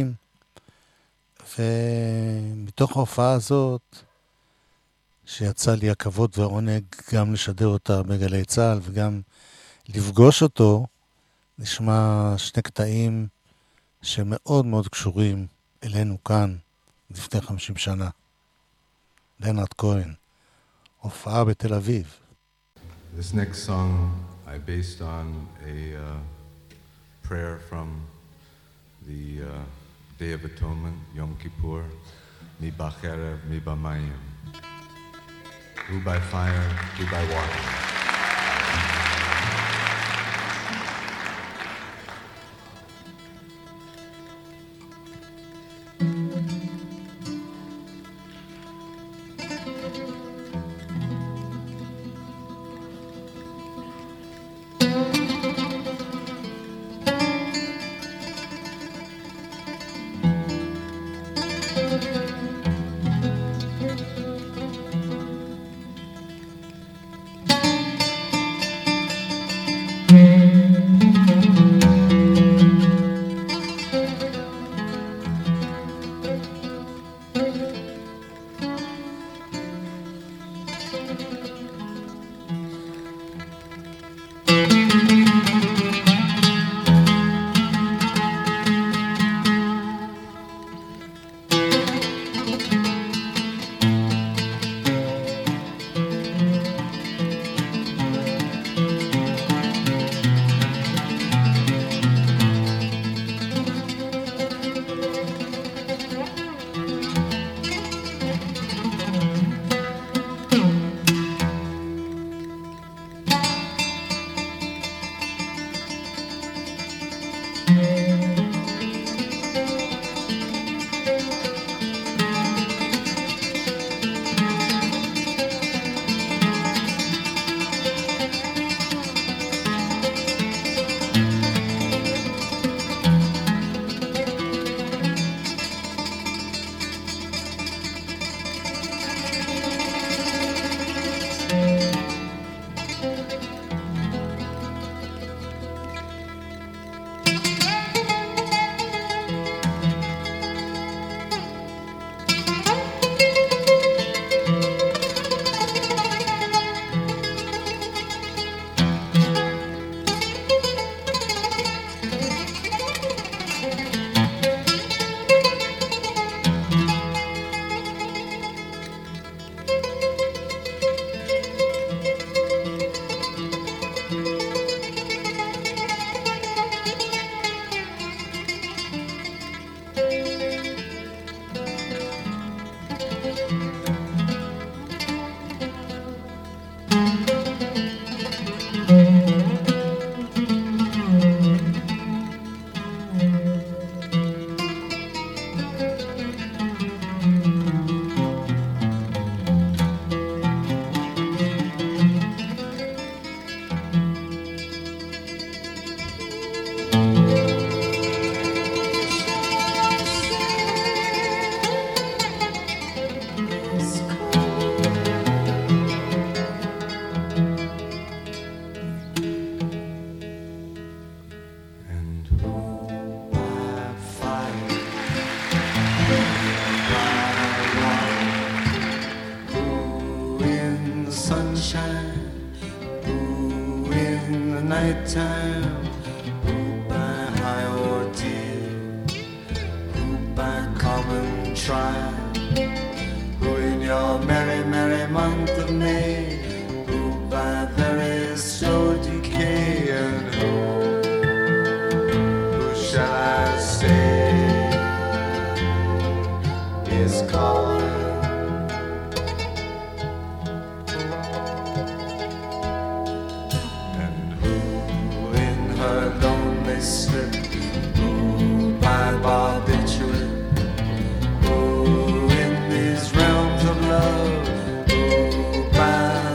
[SPEAKER 1] ומתוך ההופעה הזאת, שיצא לי הכבוד והעונג גם לשדר אותה בגלי צהל וגם לפגוש אותו, נשמע שני קטעים שמאוד מאוד קשורים אלינו כאן לפני 50 שנה. לנארד כהן, הופעה בתל אביב.
[SPEAKER 10] This next song I based on a prayer from the Day of Atonement, Yom Kippur, Mi Bacherev, Mi Bamayim. Who by fire, who by water.
[SPEAKER 5] nighttime, who by high ordeal, who by common trial, who in your merry, merry month of May, who by very slow decay, and who shall I say is calling?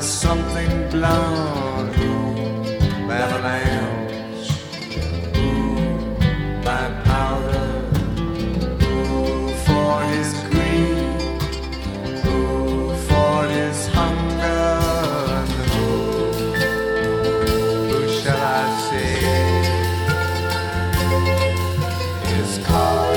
[SPEAKER 5] something blown, by avalanche, by powder, for his greed, for his hunger, and who shall I say is called?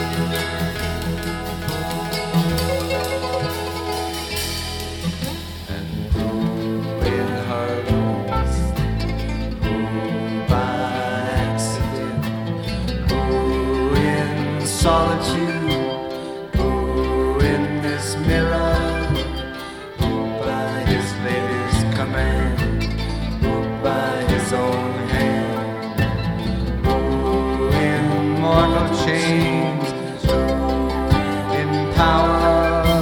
[SPEAKER 5] Solitude, who in this mirror, who by his lady's command, who by his own hand, who in mortal chains, who in power,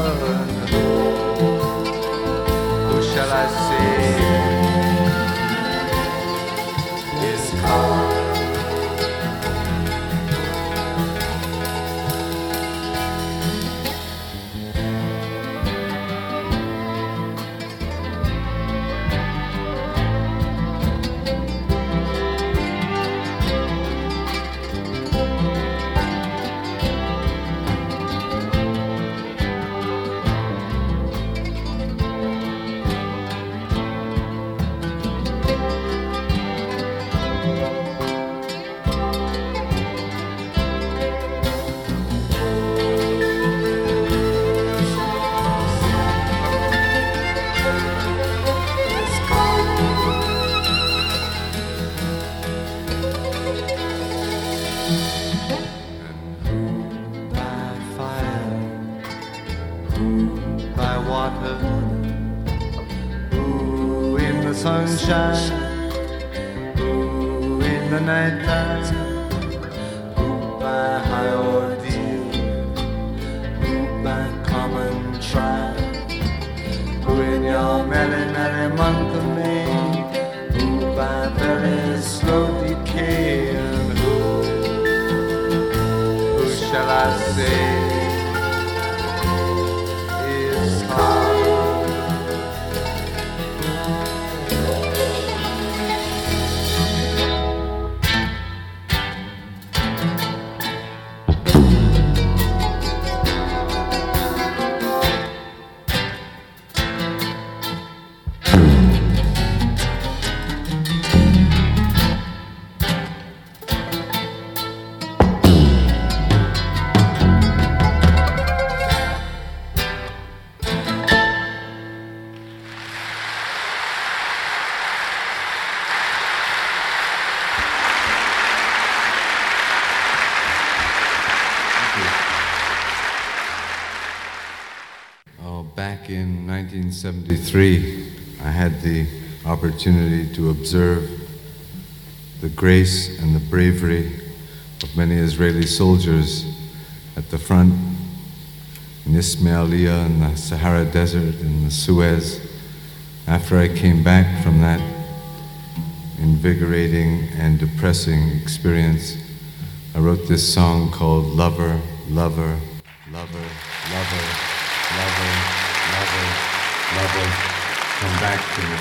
[SPEAKER 5] who shall I say is called? Sunshine, ooh, in the night time, ooh, by high ordeal, ooh, by common trial, ooh, in your merry, merry month of May, ooh, by very slow decay, and who shall I say is hard?
[SPEAKER 10] Back in 1973, I had the opportunity to observe the grace and the bravery of many Israeli soldiers at the front in Ismailia, in the Sahara Desert, in the Suez. After I came back from that invigorating and depressing experience, I wrote this song called Lover, Lover, Lover, Lover, Lover, Lover, Lover, come back to me.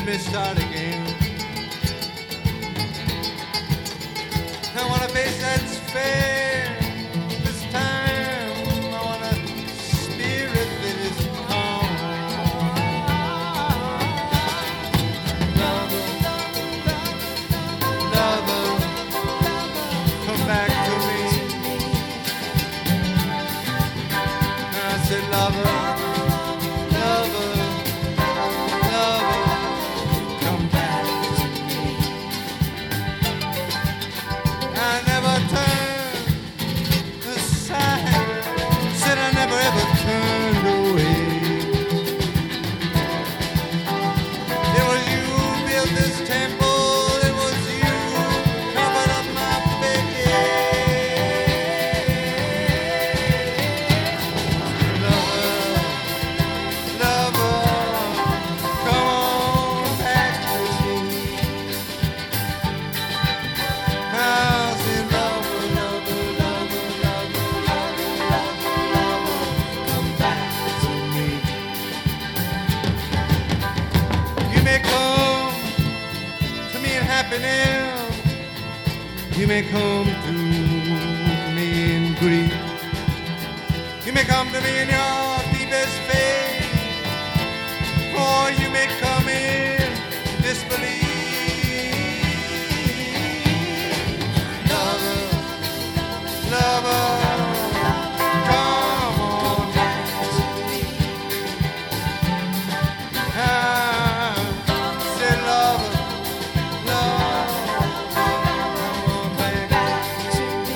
[SPEAKER 5] me start again. I want a face that's fair. This time I want a spirit that is calm. Lover, lover, come back to me. And I said, lover, lover, lover, come back to me. I never turned aside, said I never ever turned away. It was you who built this temple, it was you who covered up my bed. Lover, lover, come on back to me. I said, lover, lover, lover, lover, lover, lover, lover, come back to me. You may come to me in happiness, you may come to me in grief, you may come to me in your deepest faith, or you may come in disbelief. Lover, lover, come on back to me. I said, lover, lover, come on back to me.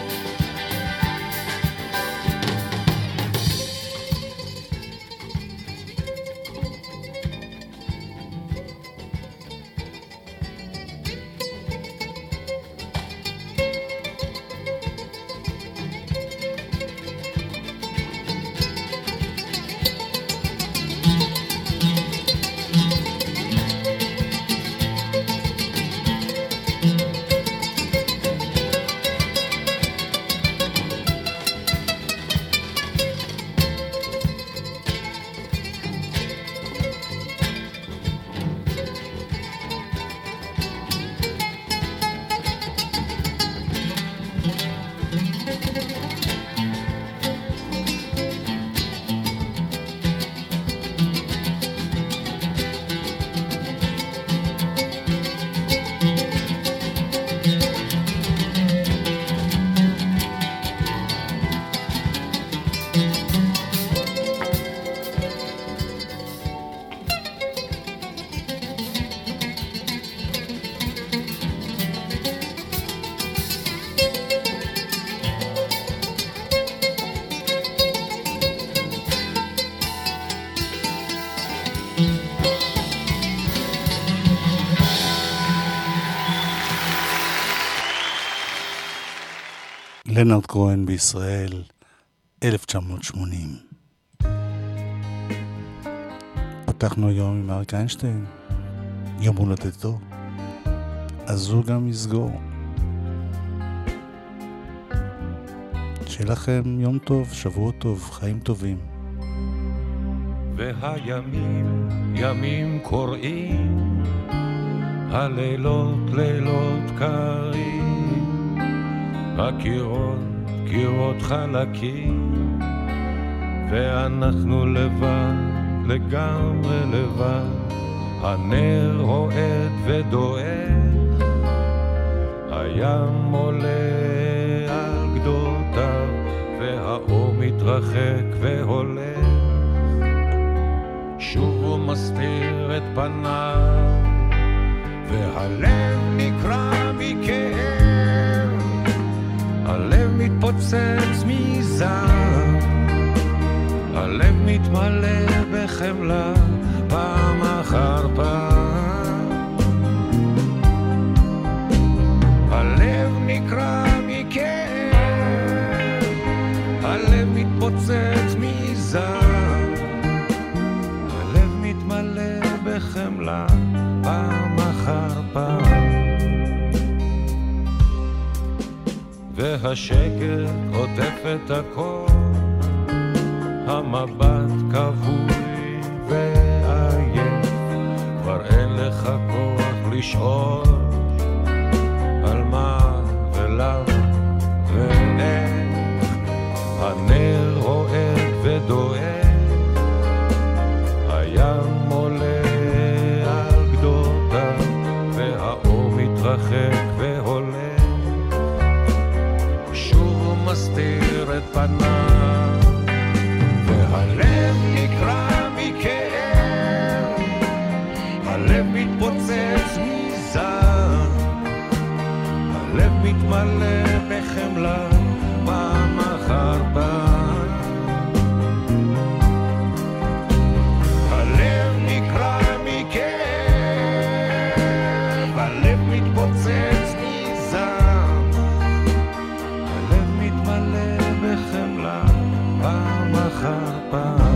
[SPEAKER 1] לנארד כהן בישראל, 1980. פתחנו היום עם אריק איינשטיין, יום הולדתו, אז הוא גם יסגור. שיהיה לכם יום טוב, שבוע טוב, חיים טובים.
[SPEAKER 11] והימים ימים קוראים, הלילות לילות קרים, הקירות קירות חלקים, ואנחנו לבד, לגמרי לבד. הנר רועד ודועך, הים עולה על גדותיו, והאור מתרחק והולך, שוב הוא מסתיר את פניו, והלב נקרע מכאב, הלב מתפוצץ מזעם, הלב מתמלא בחמלה פעם אחר פעם, הלב נקרע מכאב, הלב מתפוצץ מזעם, הלב מתמלא בחמלה פעם אחר פעם, והשקט עוטף את הכל, המבט כבוי ועייף, כבר אין לשאול על מה ולמה ואיך הנר רועד ודואג, הים עולה על גדותיו והאור מתרחק והולך, שוב מסתיר את פניו והלב נקרע מכאב, הלב מתפוצץ מזעם, הלב מתמלא בחמלה פעם אחר פעם, הלב נקרע מכאב, הלב מתפוצץ מזעם, הלב מתמלא בחמלה פעם אחר פעם.